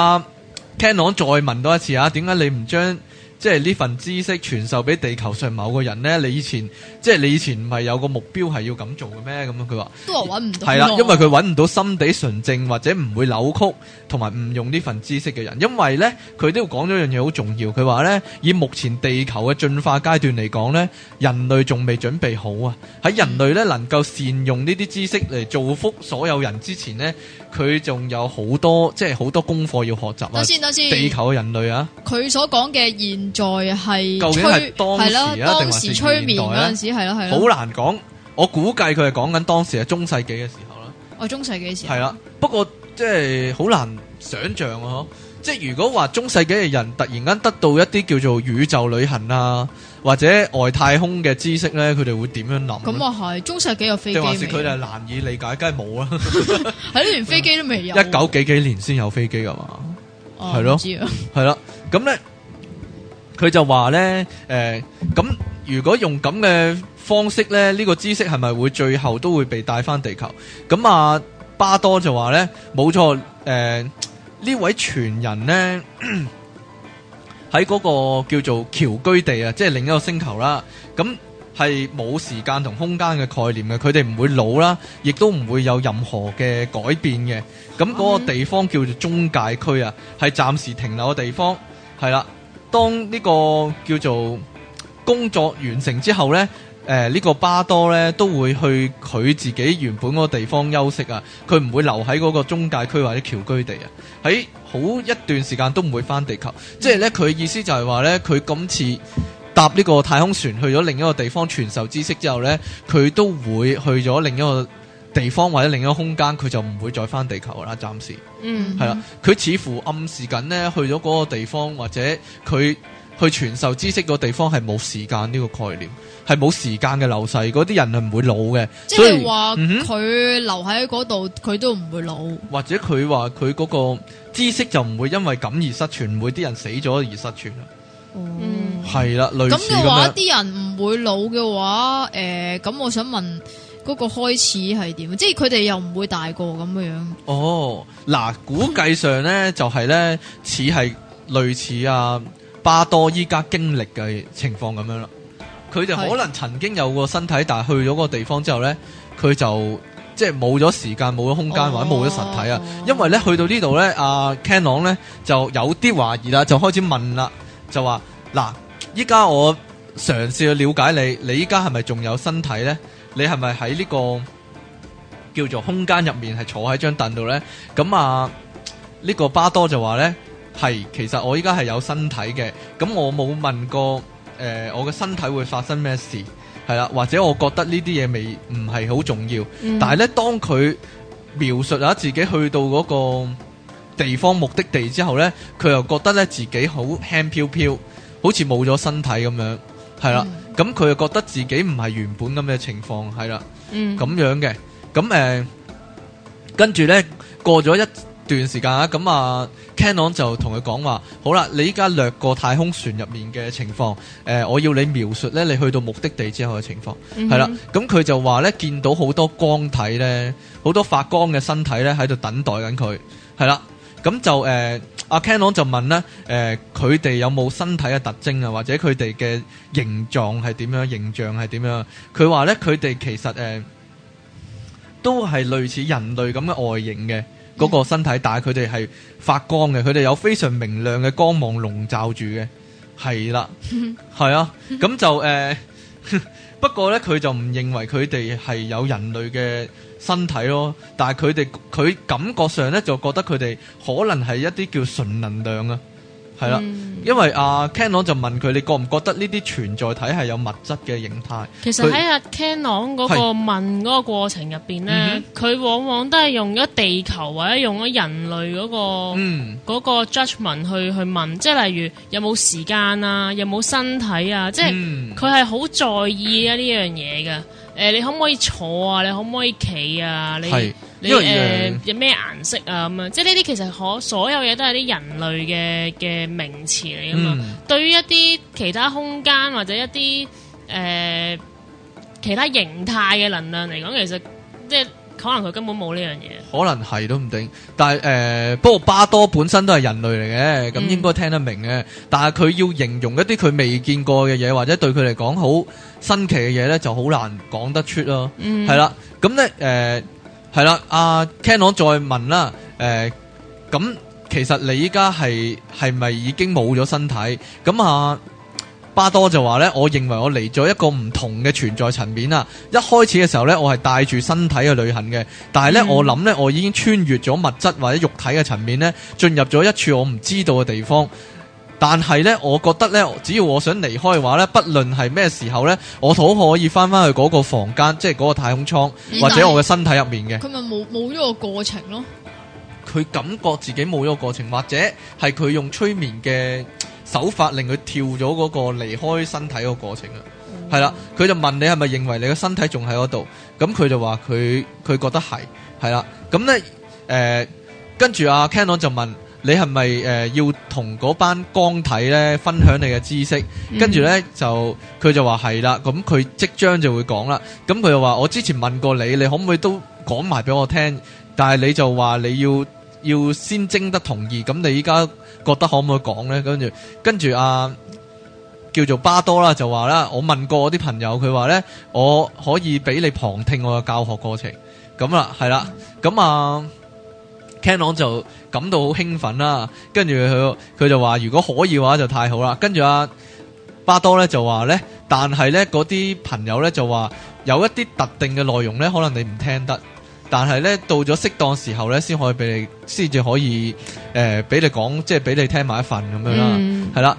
Canon 再問多一次啊，點解你唔將即係呢份知識傳授俾地球上某個人呢？你以前唔係有個目標係要咁做嘅咩？咁樣佢話都話揾唔到， 係啦，因為佢揾唔到心地純正或者唔會扭曲同埋誤用呢份知識嘅人。因為呢，佢都要講咗一樣嘢好重要。佢話呢，以目前地球嘅進化階段嚟講呢，人類仲未準備好啊。喺人類呢能夠善用呢啲知識嚟造福所有人之前呢，佢仲有好多功課要學習啊。等先，地球嘅人類啊， 佢所講嘅現在係究竟係當時啊，定當時催眠嗰陣時係咯， 好難講。我估計佢係講緊當時係中世紀嘅時候啦。 中世紀時候係啦，不過即係好難想象啊！即係如果話中世紀嘅人突然間得到一啲叫做宇宙旅行啊，或者外太空嘅知識咧，佢哋會點樣諗？ 咁啊係，中世紀有飛機未？ 定還是佢哋難以理解？梗係冇啦， 係連飛機都未有。 19幾年先有飛機噶嘛？係咯，係啦，咁咧。佢就話咧，咁如果用咁嘅方式咧，呢個知識係咪會最後都會被帶翻地球？咁巴多就話咧，冇錯，呢位傳人咧喺嗰個叫做僑居地啊，即係另一個星球啦。咁係冇時間同空間嘅概念嘅，佢哋唔會老啦，亦都唔會有任何嘅改變嘅。咁嗰個地方叫做中介區啊，係暫時停留嘅地方，係啦。當呢個叫做工作完成之後呢，呢個巴多呢都會去佢自己原本嗰個地方休息啊，佢唔會留喺嗰個中介區或者僑居地啊，喺好一段時間都唔會翻地球。即係呢，佢意思就係話呢，佢今次搭呢個太空船去咗另一個地方傳授知識之後呢，佢都會去咗另一個地方或者另一個空間，佢就唔會再翻地球啦，暫時。係啦，佢似乎暗示緊呢，去咗嗰個地方或者佢去傳授知識個地方係冇時間呢個概念，係冇時間嘅流逝，嗰啲人係唔會老嘅。 即係話佢留喺嗰度，佢都唔會老。 或者佢話佢嗰個知識就唔會因為咁而失傳，唔會啲人死咗而失傳啦。係啦，類似咁嘅話， 啲人唔會老嘅話，咁我想問。嗰個開始係點？即係佢哋又唔會大個咁樣。 哦，嗱，估計上咧就係咧似係類似巴多依家經歷嘅情況咁樣啦。佢哋可能曾經有個身體，但係去咗個地方之後咧，佢就即係冇咗時間、冇咗空間或者冇咗實體啊。因為咧去到呢度咧，阿 Canon 咧就有啲懷疑啦，就開始問啦，就話嗱，依家我嘗試去了解你，你依家係咪仲有身體咧？你係咪喺呢個叫做空間入面係坐喺張凳度呢？咁呢個巴多就話呢，係其實我依家係有身體嘅。咁我冇問過我嘅身體會發生咩事，係啦，或者我覺得呢啲嘢唔係好重要。但係呢，當佢描述下自己去到嗰個地方目的地之後呢，佢又覺得呢自己好輕飄飄，好似冇咗身體咁樣，係啦。咁佢又覺得自己唔係原本咁嘅情況，係啦，咁樣嘅。咁跟住呢，過咗一段時間啊，咁Canon 就同佢講話，好啦，你依家掠過太空船入面嘅情況，我要你描述呢，你去到目的地之後嘅情況，係啦。咁佢就話呢，見到好多光體呢，好多發光嘅身體呢喺度等待緊佢，係啦。 咁就阿 Canon 就問咧，佢哋有冇身體嘅特徵啊，或者佢哋嘅形狀係點樣，形象係點樣？佢話咧，佢哋其實都係類似人類咁嘅外形嘅嗰個身體，但係佢哋係發光嘅，佢哋有非常明亮嘅光芒籠罩住嘅，係啦，係啊，咁就不過咧，佢就唔認為佢哋係有人類嘅身體咯，但係佢感覺上咧就覺得佢哋可能係一啲叫純能量啊。係啦，因為阿 Canon 就問佢，你覺唔覺得呢啲存在體係有物質嘅形態？其實喺阿 Canon 嗰個問嗰個過程入邊咧，佢往往都係用咗地球或者用咗人類嗰個 judgment 去問，即係例如有冇時間啊，有冇身體啊，即係佢係好在意啊呢樣嘢嘅。你可唔可以坐啊？你可唔可以企啊？你有咩顏色啊？咁樣，即係呢啲其實所有嘢都係啲人類嘅名詞嚟噶嘛。對於一啲其他空間或者一啲其他形態嘅能量嚟講，其實即係可能佢根本冇呢樣嘢。可能係都唔定，但係不過巴多本身都係人類嚟嘅，咁應該聽得明嘅。但係佢要形容一啲佢未見過嘅嘢，或者對佢嚟講好新奇嘅嘢咧，就好難講得出咯。係啦，咁咧係啦，阿 Canon 再問啦，咁其實你依家係咪已經冇咗身體？咁啊，巴多就話咧，我認為我嚟咗一個唔同嘅存在層面啊！一開始嘅時候咧，我係帶住身體去旅行嘅，但係咧，我諗咧，我已經穿越咗物質或者肉體嘅層面咧，進入咗一處我唔知道嘅地方。但係咧，我覺得咧，只要我想離開嘅話咧，不論係咩時候咧，我都可以翻去嗰個房間，即係嗰個太空艙或者我嘅身體入面嘅。佢咪冇咗個過程咯？佢感覺自己冇咗個過程，或者係佢用催眠嘅手法令佢跳咗嗰個離開身體個過程啊。係啦，佢就問你係咪認為你嘅身體仲喺嗰度？咁佢就話佢覺得係啦。咁咧跟住阿 Canon 就問。你係咪要同嗰班光體咧分享你嘅知識？跟住咧就佢就話係啦，咁佢即將就會講啦。咁佢就話我之前問過你，你可唔可以都講埋俾我聽？但係你就話你要先徵得同意。咁你依家覺得可唔可以講咧？跟住叫做巴多啦，就話啦，我問過我啲朋友，佢話咧我可以俾你旁聽我嘅教學過程。咁啦，係啦，咁Canon 就感到好興奮啦，跟住佢就話如果可以嘅話就太好啦。跟住巴多咧就話咧，但係咧嗰啲朋友咧就話有一啲特定嘅內容咧，可能你唔聽得，但係咧到咗適當時候咧，先至可以俾你講，即係俾你聽埋一份咁樣啦。係啦，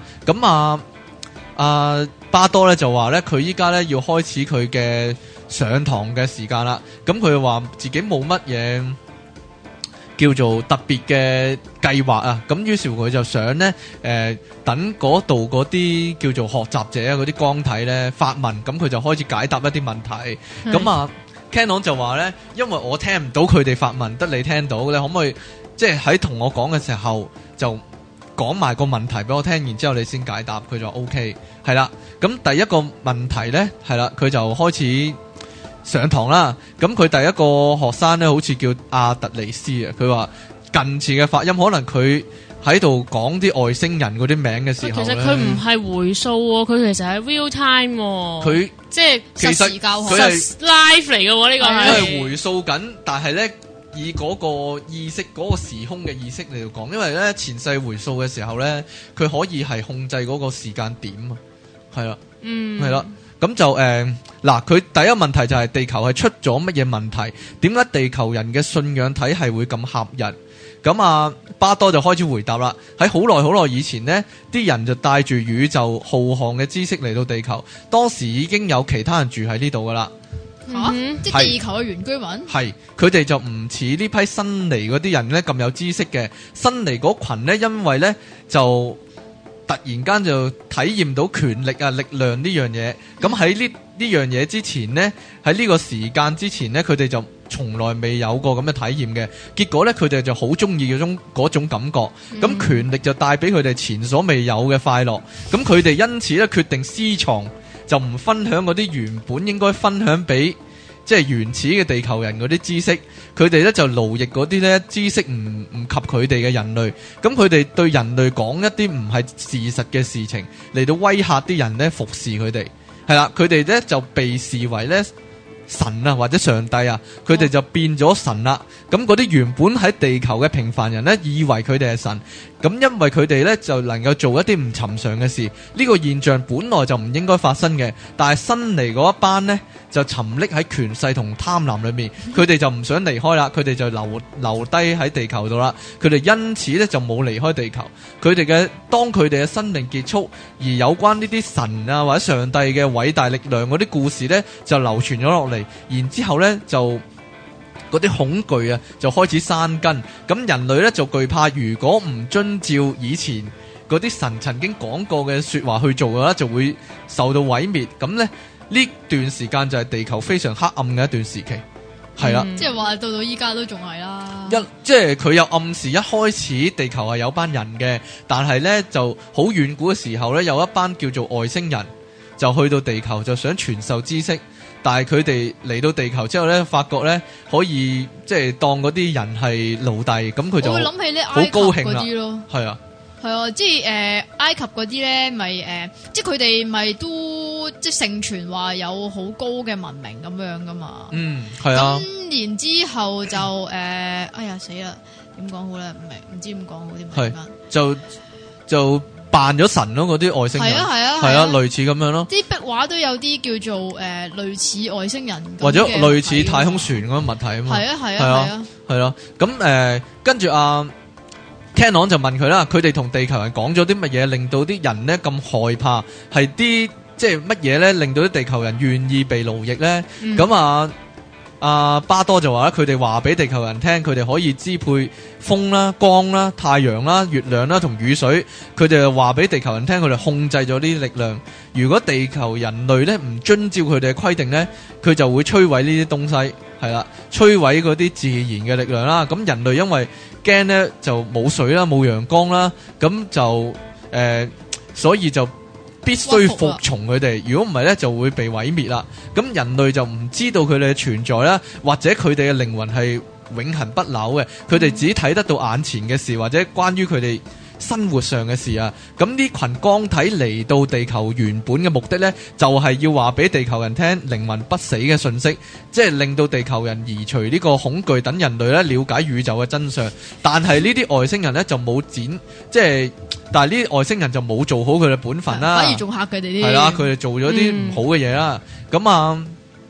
咁巴多咧就話咧，佢依家咧要開始佢嘅上堂嘅時間啦。咁佢話自己冇乜嘢叫做特別嘅計劃啊，咁於是乎佢就想咧，等嗰度嗰啲叫做學習者啊，嗰啲光體咧發問，咁佢就開始解答一啲問題。咁Canon 就話咧，因為我聽唔到佢哋發問，得你聽到，你可唔可以即係喺同我講嘅時候就講埋個問題俾我聽，然之後你先解答？佢就 OK， 係啦。咁第一個問題咧，係啦，佢就開始上堂啦，咁佢第一個學生咧，好似叫阿特尼斯啊。佢話近似嘅發音，可能佢喺度講啲外星人嗰啲名嘅時候，其實佢唔係回數喎，佢其實係 real time 喎。佢即係實時教學，佢係 live 嚟嘅喎。呢個係回數緊，但係咧以嗰個意識、嗰個時空嘅意識嚟到講，因為咧前世回數嘅時候咧，佢可以係控制嗰個時間點啊。係啦，係啦。咁就嗱，佢第一個問題就係地球係出咗乜嘢問題？點解地球人嘅信仰體系會咁狹日？咁巴多就開始回答啦。喺好耐好耐以前呢，啲人就帶住宇宙浩瀚嘅知識嚟到地球，當時已經有其他人住喺呢度噶啦。即係地球嘅原居民？係，佢哋就唔似呢批新嚟嗰啲人呢咁有知識嘅。新嚟嗰群呢，因為呢就突然間就體驗到權力啊、力量呢樣嘢，咁喺呢樣嘢之前呢，喺呢個時間之前呢，佢哋就從來未有過咁嘅體驗嘅。結果呢，佢哋就好中意嗰種感覺。咁權力就帶俾佢哋前所未有嘅快樂。咁佢哋因此呢，決定私藏，就唔分享嗰啲原本應該分享俾即係原始嘅地球人嗰啲知識，佢哋咧就奴役嗰啲咧知識唔及佢哋嘅人類，咁佢哋對人類講一啲唔係事實嘅事情嚟到威嚇啲人咧服侍佢哋，係啦，佢哋咧就被視為咧神啊或者上帝啊，佢哋就變咗神啦。咁嗰啲原本喺地球嘅平凡人咧，以為佢哋係神，咁因為佢哋咧就能夠做一啲唔尋常嘅事，呢個現象本來就唔應該發生嘅，但係新嚟嗰一班呢，就沉溺喺權勢同貪婪裏面，佢哋就唔想離開啦，佢哋就留低喺地球度啦，佢哋因此咧就冇離開地球。當佢哋嘅生命結束，而有關呢啲神啊或者上帝嘅偉大力量嗰啲故事呢，就流傳咗落嚟，然之後呢就嗰啲恐懼啊就開始生根，咁人類呢，就懼怕，如果唔遵照以前嗰啲神曾經講過嘅說話去做嘅話，就會受到毀滅。咁呢段時間就係地球非常黑暗嘅一段時期，係啦， 即係話到依家都仲係啦。 即係佢有暗示一開始地球係有班人嘅，但係呢就好遠古嘅時候呢，有一班叫做外星人就去到地球就想傳授知識。但係佢哋嚟到地球之後咧，發覺咧可以即係當嗰啲人係奴隸，咁佢就我會諗起咧好高興啦。係啊， 係啊，即係埃及嗰啲咧，咪即係佢哋咪都即係盛傳話有好高嘅文明咁樣噶嘛。 嗯，係啊。 咁然之後就哎呀死啦，點講好咧？唔知點講好啲咩？ 係就扮咗神咯，嗰啲外星人係啊，類似咁樣咯。啲壁畫都有啲叫做類似外星人或者類似太空船咁嘅物體啊嘛。係啊。咁跟住阿 Canon 就問佢啦，佢哋同地球人講咗啲乜嘢，令到啲人呢咁害怕？係啲即係乜嘢咧，令到啲地球人願意被奴役咧？咁巴多就話咧，佢哋話俾地球人聽，佢哋可以支配風啦、光啦、太陽啦、月亮啦同雨水。佢哋就話俾地球人聽，佢哋控制咗呢啲力量。如果地球人類咧唔遵照佢哋嘅規定咧，佢就會摧毀呢啲東西，係啦，摧毀嗰啲自然嘅力量啦。咁人類因為驚咧就冇水啦、冇陽光啦，咁就所以就必須服從佢哋，如果唔係咧就會被毀滅啦。咁人類就唔知道佢哋嘅存在啦，或者佢哋嘅靈魂係永恆不朽嘅，佢哋只睇得到眼前嘅事，或者關於佢哋生活上嘅事啊。咁呢群光體嚟到地球原本嘅目的呢，就係要話俾地球人聽靈魂不死嘅信息，即係令到地球人移除呢個恐懼，等人類咧了解宇宙嘅真相。但係呢啲外星人呢，就冇但係呢啲外星人就冇做好佢嘅本分啦， 反而仲嚇佢哋啲。 係啦，佢哋做咗啲唔好嘅嘢啦。咁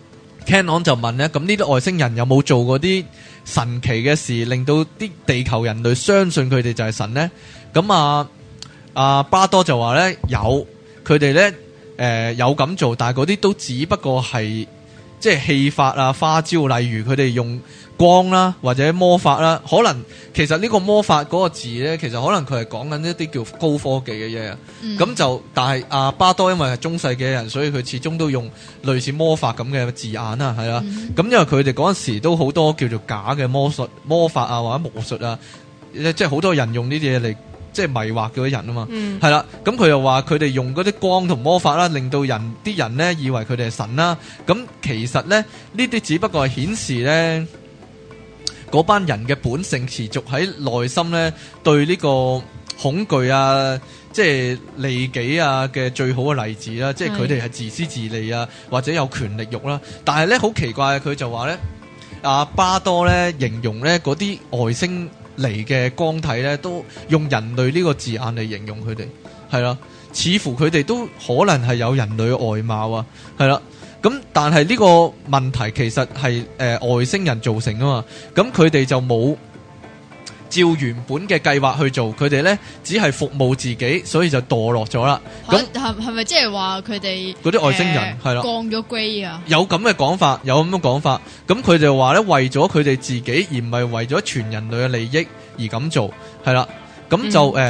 Canon 就問咧，咁呢啲外星人有冇做過啲神奇嘅事，令到啲地球人類相信佢哋就係神呢？咁巴多就話咧有，佢哋咧有咁做，但係嗰啲都只不過係即係戲法啊、花招，例如佢哋用光啦或者魔法啦，可能其實呢個魔法嗰個字咧，其實可能佢係講緊一啲叫高科技嘅嘢。咁但係巴多因為係中世紀嘅人，所以佢始終都用類似魔法咁嘅字眼啦，係啦。咁因為佢哋嗰陣時都好多叫做假嘅魔法啊或者巫術啊，即係好多人用呢啲嘢嚟即係迷惑嗰啲人啊嘛。係啦，咁佢又話佢哋用嗰啲光同魔法啦，令到啲人呢以為佢哋係神啦。咁其實呢啲只不過係顯示呢嗰班人嘅本性持續喺內心咧，對呢個恐懼啊，即係利己啊嘅最好嘅例子啦，即係佢哋係自私自利啊，或者有權力慾啦。但係咧好奇怪，佢就話咧，巴多咧形容咧嗰啲外星嚟嘅光體咧，都用人類呢個字眼嚟形容佢哋，係啦，似乎佢哋都可能係有人類嘅外貌啊，係啦。咁但係呢個問題其實係外星人造成啊嘛，咁佢哋就冇照原本嘅計劃去做，佢哋呢只係服務自己，所以就墮落咗啦。咁係咪即係話佢哋嗰啲外星人係啦降咗 grade 啊？ 有咁嘅講法，有咁嘅講法。咁佢哋話呢，為咗佢哋自己，而唔係為咗全人類嘅利益而咁做，係啦。咁就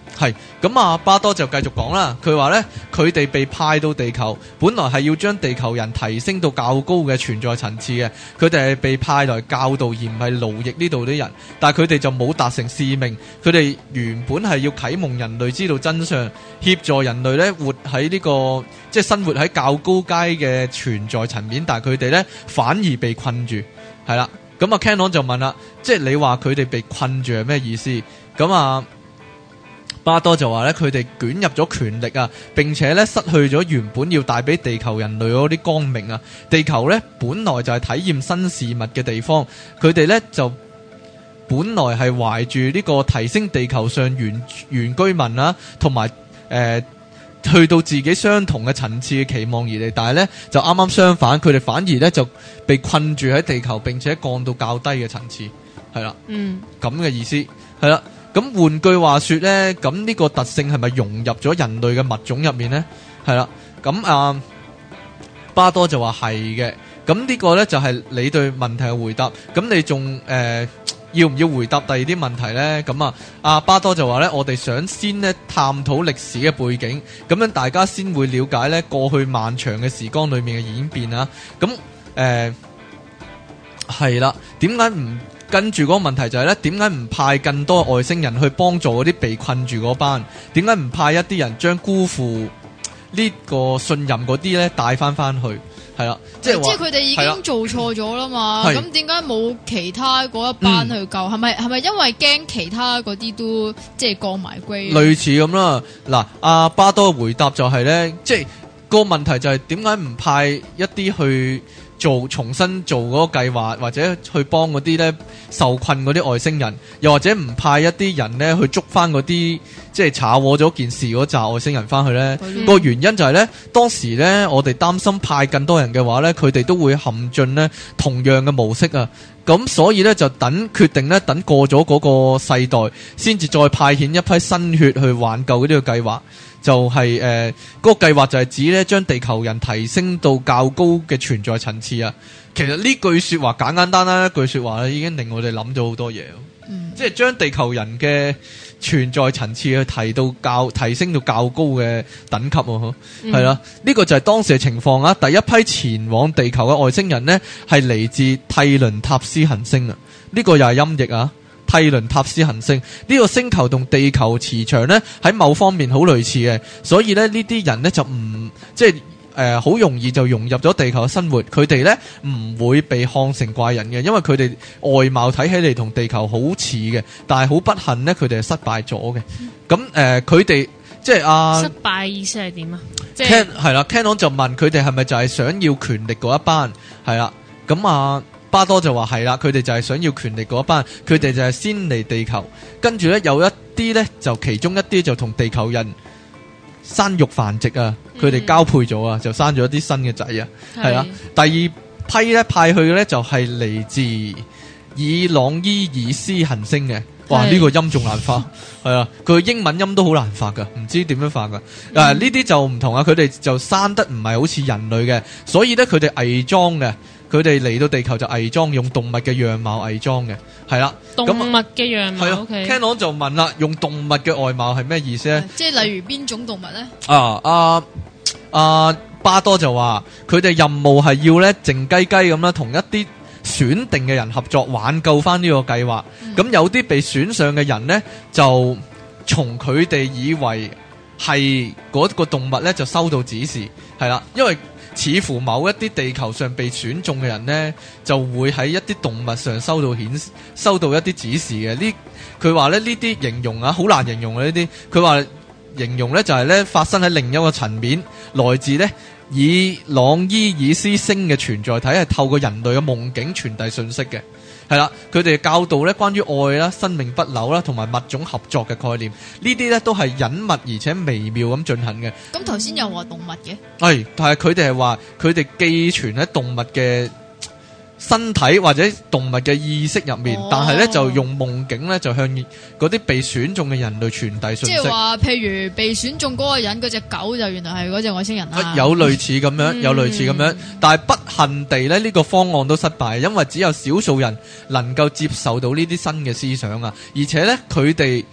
係咁啊，巴多就繼續講啦。佢話呢，佢哋被派到地球，本來係要將地球人提升到較高嘅存在層次嘅。佢哋係被派來教導，而唔係奴役呢度啲人。但係佢哋就冇達成使命。佢哋原本係要啟蒙人類知道真相，協助人類呢活喺呢個即係生活喺較高階嘅存在層面。但係佢哋呢反而被困住，係啦。咁啊 Canon 就問啦，即係你話佢哋被困住係咩意思？咁啊巴多就話咧，佢哋捲入咗權力啊，並且咧失去咗原本要帶俾地球人類嗰啲光明啊。地球咧本來就係體驗新事物嘅地方，佢哋咧就本來係懷住呢個提升地球上原居民啊，同埋去到自己相同嘅層次嘅期望而嚟，但係咧就啱啱相反，佢哋反而咧就被困住喺地球，並且降到較低嘅層次，係啦，咁嘅意思係啦。咁換句話說呢，咁呢個特性係咪融入咗人類嘅物種入面呢？係啦，咁巴多就話係嘅。咁呢個呢，就係你對問題嘅回答。咁你仲要唔要回答第二啲問題呢？咁阿巴多就話呢，我哋想先呢探討歷史嘅背景，咁樣大家先會了解呢過去漫長嘅時光裏面嘅演變啊。咁係啦，點解唔？跟住嗰個問題就係咧，點解唔派更多外星人去幫助嗰啲被困住嗰班？點解唔派一啲人將辜負呢個信任嗰啲咧帶翻去？係啦，即係佢哋已經做錯咗啦嘛。咁點解冇其他嗰一班去救？係咪因為驚其他嗰啲都即係降埋歸？類似咁啦。嗱，阿巴多嘅回答就係咧，即係個問題就係點解唔派一啲去重新做嗰個計劃，或者去幫嗰啲咧受困嗰啲外星人，又或者唔派一啲人咧去捉翻嗰啲即係查獲咗件事嗰紮外星人翻去咧？個原因就係咧，當時咧我哋擔心派更多人嘅話咧，佢哋都會陷進咧同樣嘅模式啊。咁所以咧就決定咧等過咗嗰個世代，先至再派遣一批新血去挽救呢個計劃。就係嗰個計劃就係指咧將地球人提升到較高嘅存在層次啊。其實呢句說話簡簡單單一句說話咧，已經令我哋諗咗好多嘢。即係將地球人嘅存在層次去提升到較高嘅等級啊。係啦，呢個就係當時嘅情況啊。第一批前往地球嘅外星人呢，係嚟自蒂倫塔斯行星啊。呢個又係音譯啊。蒂倫塔斯行星呢個星球同地球磁場呢喺某方面好類似嘅，所以呢啲人呢就唔即係好容易就融入咗地球嘅生活。佢哋呢唔會被看成怪人嘅，因為佢哋外貌睇起嚟同地球好似嘅，但係好不幸呢，佢哋係失敗咗嘅。咁佢哋即係失敗意思係點啊？即係係啦 Canon 就問佢哋係咪就係想要權力嗰一班？係啦，咁巴多就話係啦，佢哋就係想要權力嗰一班，佢哋就係先嚟地球，跟住呢，有一啲呢，就其中一啲就同地球人生育繁殖啊，佢哋交配咗啊，就生咗一啲新嘅仔啊，係啦。第二批呢，派去嘅呢，就係嚟自爾朗伊爾斯行星嘅，哇呢個音仲難發，係啊，佢英文音都好難發噶，唔知點樣發噶。呢啲就唔同啊，佢哋就生得唔係好似人類嘅，所以呢，佢哋偽裝嘅。佢哋嚟到地球就偽裝，用動物嘅樣貌偽裝嘅，係啦。 動物嘅樣貌。 係 Canon 就問啦，用動物嘅外貌係咩意思咧？ 即係例如邊種動物咧？ 巴多就話佢哋任務係要咧靜雞雞咁啦，同一啲選定嘅人合作，挽救翻呢個計劃。咁有啲被選上嘅人呢，就從佢哋以為係嗰個動物呢，就收到指示，係啦，因為似乎某一啲地球上被選中嘅人呢，就會喺一啲動物上收到一啲指示嘅。佢話咧呢啲形容啊，好難形容啊呢啲。佢話形容呢就係呢發生喺另一個層面，來自呢以朗伊爾斯星嘅存在體係透過人類嘅夢境傳遞信息嘅。係啦，佢哋教導咧關於愛啦、生命不朽啦，同埋物種合作嘅概念，呢啲咧都係隱密而且微妙咁進行嘅。 咁頭先又話動物嘅， 係，但係佢哋係話佢哋寄存喺動物嘅身體或者動物嘅意識入面，但係咧就用夢境咧就向嗰啲被選中嘅人類傳遞信息。即係話， 譬如被選中嗰個人嗰隻狗就原來係嗰隻外星人啦。 有類似咁樣，有類似咁樣，但係不幸地咧呢個方案都失敗，因為只有少數人能夠接受到呢啲新嘅思想啊，而且咧佢哋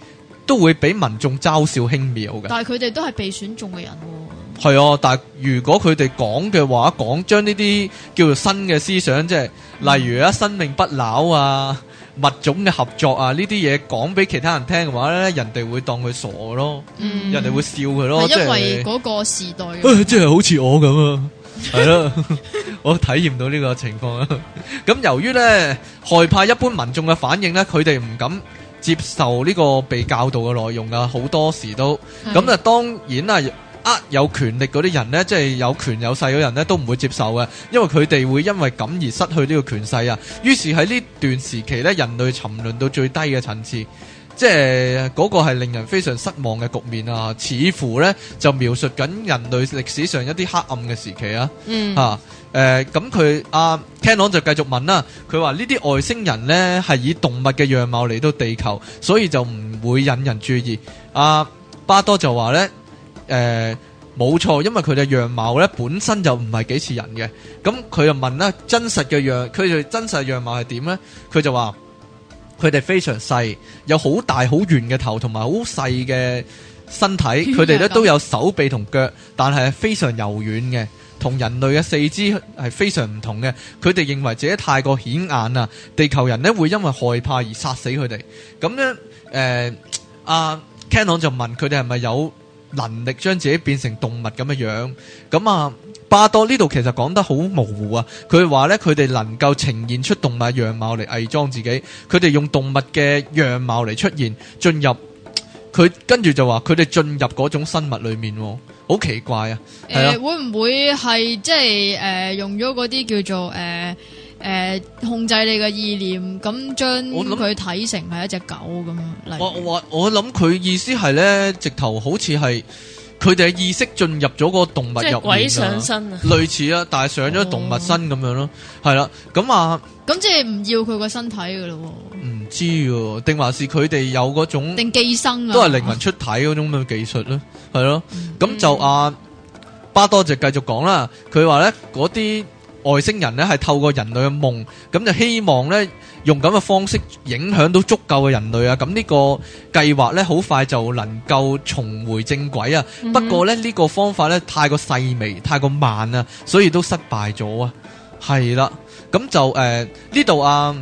都會俾民眾嘲笑輕蔑嘅。 但係佢哋都係被選中嘅人喎。 係啊，但係如果佢哋講嘅話，將呢啲叫做新嘅思想，即係例如生命不朽啊、物種嘅合作啊呢啲嘢講俾其他人聽嘅話咧，人哋會當佢傻咯，人哋會笑佢咯。 係因為嗰個時代即係好似我咁啊，係咯，我體驗到呢個情況啊。咁由於咧害怕一般民眾嘅反應咧，佢哋唔敢接受呢個被教導嘅內容啊，好多時都咁啊。當然啊。有權力嗰啲人呢，即係有權有勢嗰人呢，都唔會接受嘅，因為佢哋會因為咁而失去呢個權勢啊。於是喺呢段時期呢，人類沉淪到最低嘅層次，即係嗰個係令人非常失望嘅局面啊。似乎呢，就描述緊人類歷史上一啲黑暗嘅時期啊。咁佢Canon 就繼續問啦，佢話呢啲外星人呢，係以動物嘅樣貌嚟到地球，所以就唔會引人注意。巴多就話呢。冇錯，因為佢哋樣貌咧本身就唔係幾似人嘅。咁佢就問啦，真實嘅樣貌係點呢？佢就話佢哋非常細，有好大好圓嘅頭同埋好細嘅身體。佢哋咧都有手臂同腳，但係非常柔軟嘅，同人類嘅四肢係非常唔同嘅。佢哋認為自己太過顯眼啊，地球人咧會因為害怕而殺死佢哋。咁咧Canon 就問佢哋係咪有能力將自己變成動物咁嘅樣。咁巴多呢度其實講得好模糊啊。佢話呢，佢哋能夠呈現出動物樣貌嚟偽裝自己，佢哋用動物嘅樣貌嚟出現，進入佢，跟住就話佢哋進入嗰種生物裏面，好奇怪啊。 會唔會係即係用咗嗰啲叫做控制你嘅意念，咁將佢睇成係一隻狗咁樣。 我諗佢意思係咧，直頭好似係佢哋嘅意識進入咗個動物入面，即係鬼上身啊， 類似啊，但係上咗動物身咁樣咯，係啦。 咁即係唔要佢個身體噶咯？ 唔知喎，定還是佢哋有嗰種定寄生啊？ 都係靈魂出體嗰種咁嘅技術咯，係咯。咁就巴多就繼續講啦，佢話咧嗰啲外星人咧係透過人類嘅夢，咁就希望咧用咁嘅方式影響到足夠嘅人類啊。咁呢個計劃咧好快就能夠重回正軌啊。不過咧呢個方法咧太過細微，太過慢啊，所以都失敗咗啊。係啦，咁就呢度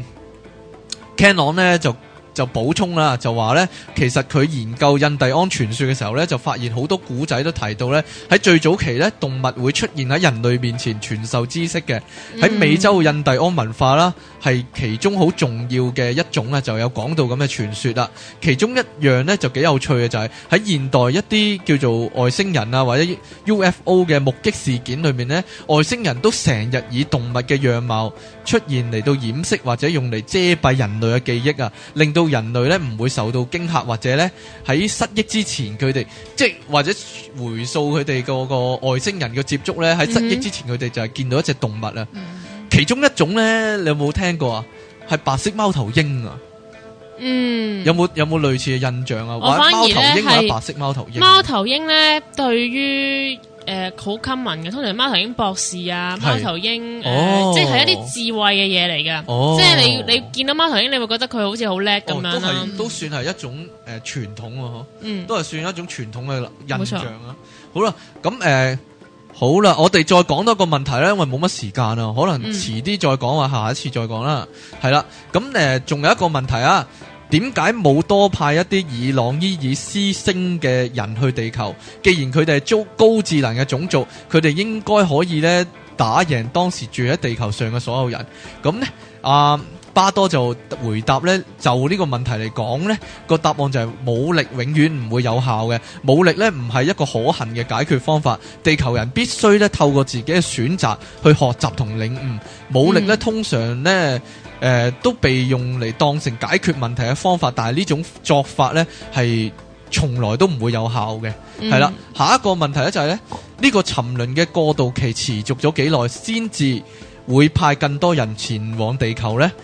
Canon 咧就補充啦，就話咧其實佢研究印第安傳說嘅時候咧，就發現好多古仔都提到咧喺最早期咧動物會出現喺人類面前傳授知識嘅。喺美洲印第安文化啦，係其中好重要嘅一種咧，就有講到咁嘅傳說啦。其中一樣咧就幾有趣嘅就係喺現代一啲叫做外星人啊或者 UFO 嘅目擊事件裏面咧，外星人都成日以動物嘅樣貌出現嚟到掩飾或者用嚟遮蔽人類嘅記憶啊，令到人類咧唔會受到驚嚇，或者咧喺失憶之前佢哋即係或者回溯佢哋個外星人嘅接觸咧，喺失憶之前佢哋就係見到一隻動物啊。其中一種咧，你有冇聽過啊？係白色貓頭鷹啊。有冇類似嘅印象啊？ 我反而咧係白色貓頭鷹。 貓頭鷹咧，對於好 common 嘅，通常貓頭鷹博士啊，貓頭鷹即係一啲智慧嘅嘢嚟㗎。即係你見到貓頭鷹，你會覺得佢好似好叻咁樣啦。 都算係一種傳統啊，都係算一種傳統嘅印象啊。好啦，咁好啦，我哋再講多個問題咧，因為冇乜時間啊，可能遲啲再講啊，下一次再講啦。係啦，咁仲有一個問題啊。點解冇多派一啲以朗伊爾斯星嘅人去地球？既然佢哋係高智能嘅種族，佢哋應該可以咧打贏當時住喺地球上嘅所有人。咁呢，巴多就回答呢，就呢個問題嚟講呢，個答案就係武力永遠唔會有效嘅。武力呢唔係一個可行嘅解決方法。地球人必須呢透過自己嘅選擇去學習同領悟。武力呢通常呢都被用嚟當成解決問題嘅方法，但係呢種作法呢係從來都唔會有效嘅。係啦，下一個問題呢就係呢個沉淪嘅過渡期持續咗幾耐先至會派更多人前往地球呢？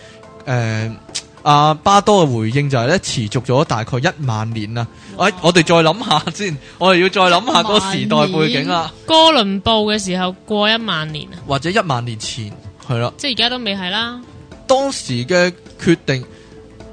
巴多嘅回應就係持續咗大概1萬年啦。我哋再諗下先，我哋要再諗下嗰個時代背景啦。 哥倫布嘅時候過1萬年啊， 或者1萬年前係啦， 即係而家都未係啦。 當時嘅決定，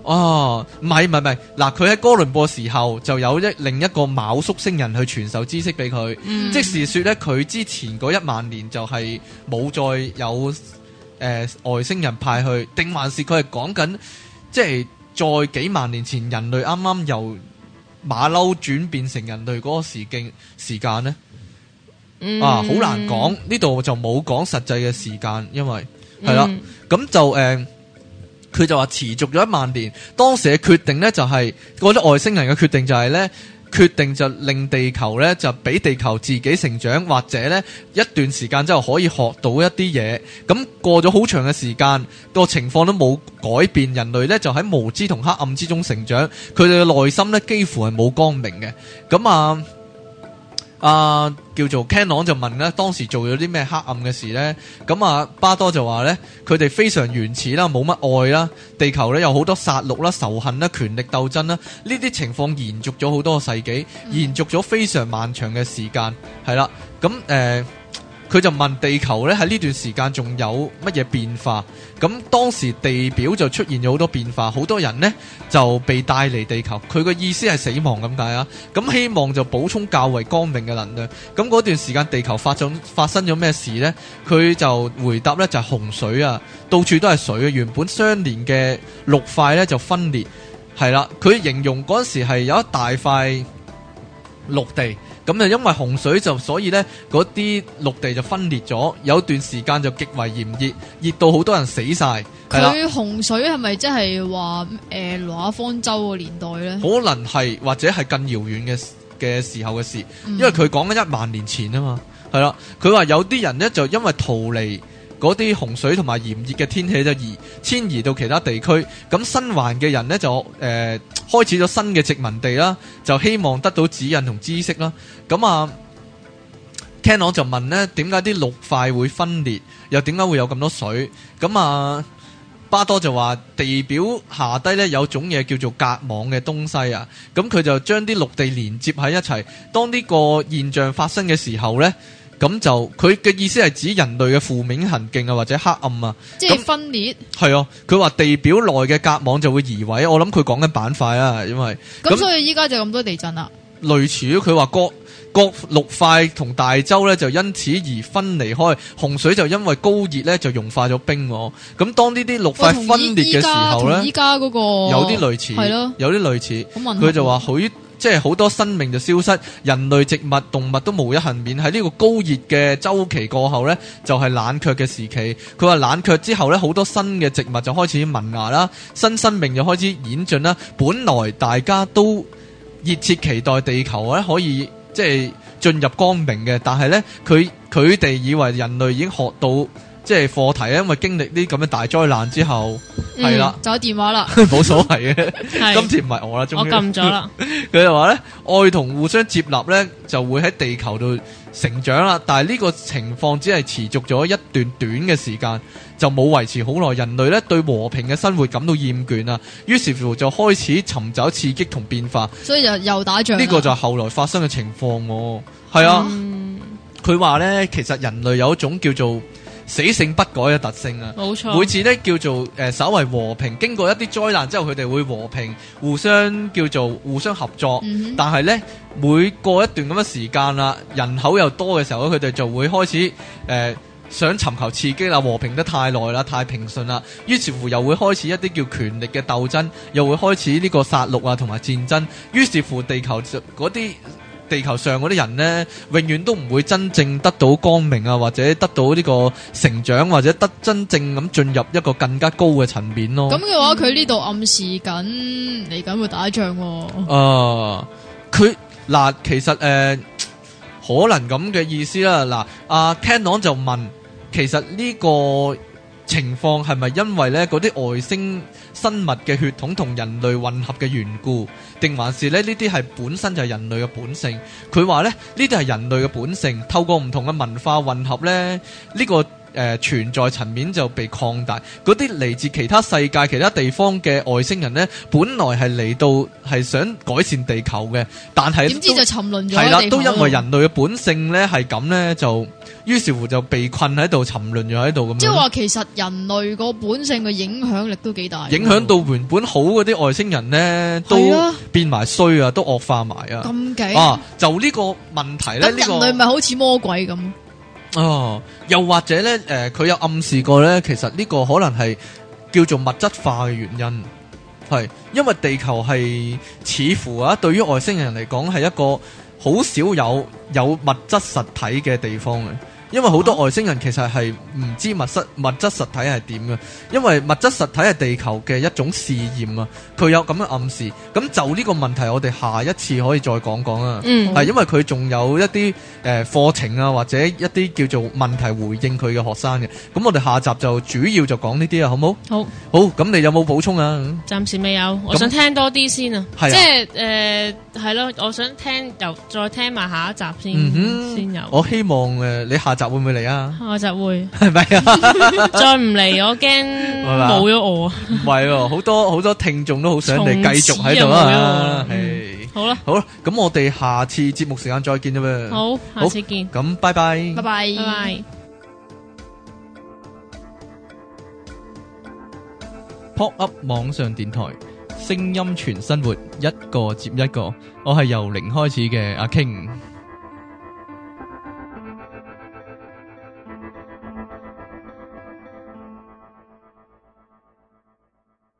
哦，唔係，嗱，佢喺哥倫布嘅時候就有另一個昴宿星人去傳授知識俾佢，即是說咧，佢之前嗰10000年就係冇再有外星人派去，定還是佢係講緊即係在幾萬年前人類啱啱由馬騮轉變成人類嗰個時間呢？好難講，呢度就冇講實際嘅時間，因為係啦，咁就佢就話持續咗10000年，當時嘅決定呢，就係嗰啲外星人嘅決定就係呢，決定就令地球呢，就俾地球自己成長，或者呢一段時間之後可以學到一啲嘢。咁過咗好長嘅時間，個情況都冇改變，人類呢就喺無知同黑暗之中成長，佢哋嘅內心呢幾乎係冇光明嘅。咁叫做 Canon 就問咧，當時做咗啲咩黑暗嘅事呢？咁巴多就話呢，佢哋非常原始啦，冇乜愛啦，地球呢有好多殺戮啦、仇恨啦、權力鬥爭啦，呢啲情況延續咗好多個世紀，延續咗非常漫長嘅時間，係啦。咁佢就問地球呢喺呢段時間仲有乜嘢變化？咁當時地表就出現咗好多變化，好多人呢就被帶離地球。佢個意思係死亡咁解啊。咁希望就補充較為光明嘅能量。咁嗰段時間地球發生咗咩事呢？佢就回答呢就係洪水啊，到處都係水啊。原本相連嘅陸塊呢就分裂，係啦。佢形容嗰時係有一大塊陸地。咁就因為洪水就所以呢嗰啲陸地就分裂咗，有段時間就極為炎熱，熱到好多人死晒。 佢洪水係咪即係話挪亞方舟個年代呢？ 可能係或者係更遙遠嘅時候嘅事，因為佢講緊10000年前啊嘛，係啦。佢話有啲人呢就因為逃離嗰啲洪水同埋炎熱嘅天氣就遷移到其他地區，咁新環嘅人呢，就開始咗新嘅殖民地啦，就希望得到指引同知識啦。咁Canon 就問呢，點解啲陸塊會分裂，又點解會有咁多水？咁巴多就話地表下低呢有種嘢叫做隔網嘅東西啊，咁佢就將啲陸地連接喺一齊，當呢個現象發生嘅時候呢，咁就佢嘅意思係指人類嘅負面行徑啊，或者黑暗啊， 即係分裂。係啊，佢話地表內嘅隔網就會移位，我諗佢講緊板塊啊，因為咁所以依家就咁多地震啦。 類似佢話各陸塊同大洲咧就因此而分離開，洪水就因為高熱咧就融化咗冰。咁當呢啲陸塊分裂嘅時候咧， 依家嗰個有啲類似，係咯，有啲類似。佢就話即係好多生命就消失，人類、植物、動物都無一幸免。喺呢個高熱嘅周期過後呢，就係冷卻嘅時期。佢話冷卻之後呢，好多新嘅植物就開始萌芽啦，新生命就開始演進啦。本來大家都熱切期待地球呢可以即係進入光明嘅，但係呢，佢哋以為人類已經學到即係課題，因為經歷呢咁嘅大災難之後，係啦， 就有電話啦， 冇所謂嘅。今次唔係我啦，終於我撳咗啦。 佢就話咧，愛同互相接納咧，就會喺地球度成長啦。但係呢個情況只係持續咗一段短嘅時間，就冇維持好耐。人類咧對和平嘅生活感到厭倦啦，於是乎就開始尋找刺激同變化。 所以就又打仗。呢個就係後來發生嘅情況喎。係啊，佢話咧，其實人類有一種叫做死性不改嘅特性啊， 冇錯。 每次咧叫做稍為和平，經過一啲災難之後，佢哋會和平，互相合作。但係咧，每過一段咁嘅時間啦，人口又多嘅時候，佢哋就會開始想尋求刺激啦，和平得太耐啦，太平順啦，於是乎又會開始一啲叫權力嘅鬥爭，又會開始呢個殺戮啊同埋戰爭。於是乎地球上嗰啲人呢，永遠都唔會真正得到光明啊，或者得到呢個成長，或者真正咁進入一個更加高嘅層面咯。 咁嘅話，佢呢度暗示緊嚟緊會打仗。 其實可能咁嘅意思啦。阿 Canon 就問，其實呢個情況係咪因為呢嗰啲外星生物嘅血統同人類混合嘅緣故，定還是呢啲係本身就係人類嘅本性？佢話呢啲係人類嘅本性，透過唔同嘅文化混合呢，呢個存在層面就被擴大。嗰啲嚟自其他世界、其他地方嘅外星人呢，本來係嚟到係想改善地球嘅，但係點知就沉淪咗。 係啦，都因為人類嘅本性呢係咁呢，就於是乎就被困喺度，沉淪咗喺度咁樣。 即係話其實人類個本性嘅影響力都幾大， 影響到原本好嗰啲外星人呢，都變埋衰啊，都惡化埋啊。 咁勁啊！就呢個問題咧， 咁人類咪好似魔鬼咁？ 哦，又或者咧，佢有暗示過咧，其實呢個可能係叫做物質化嘅原因，係因為地球係似乎啊，對於外星人嚟講係一個好少有物質實體嘅地方嘅。因為好多外星人其實係唔知物質實體係點嘅，因為物質實體係地球嘅一種試驗啊，佢有咁嘅暗示。咁就呢個問題，我哋下一次可以再講講啊。係因為佢仲有一啲課程啊，或者一啲叫做問題回應佢嘅學生嘅。咁我哋下集就主要就講呢啲啊，好冇？好，咁你有冇補充啊？ 暫時未有，我想聽多啲先啊。即係係咯，我想聽再聽埋下一集先有。 我希望你下集會唔會嚟啊？ 下集會係咪啊？ 再唔嚟我驚冇咗我啊！ 唔係，好多聽眾都好想你繼續喺度啊！ 好啦， 咁我哋下次節目時間再見啫噃。 好，下次見。 咁拜拜， 拜拜， 拜拜。 Pop Up 網上電台，聲音全生活，一個接一個。我係由零開始嘅阿 King。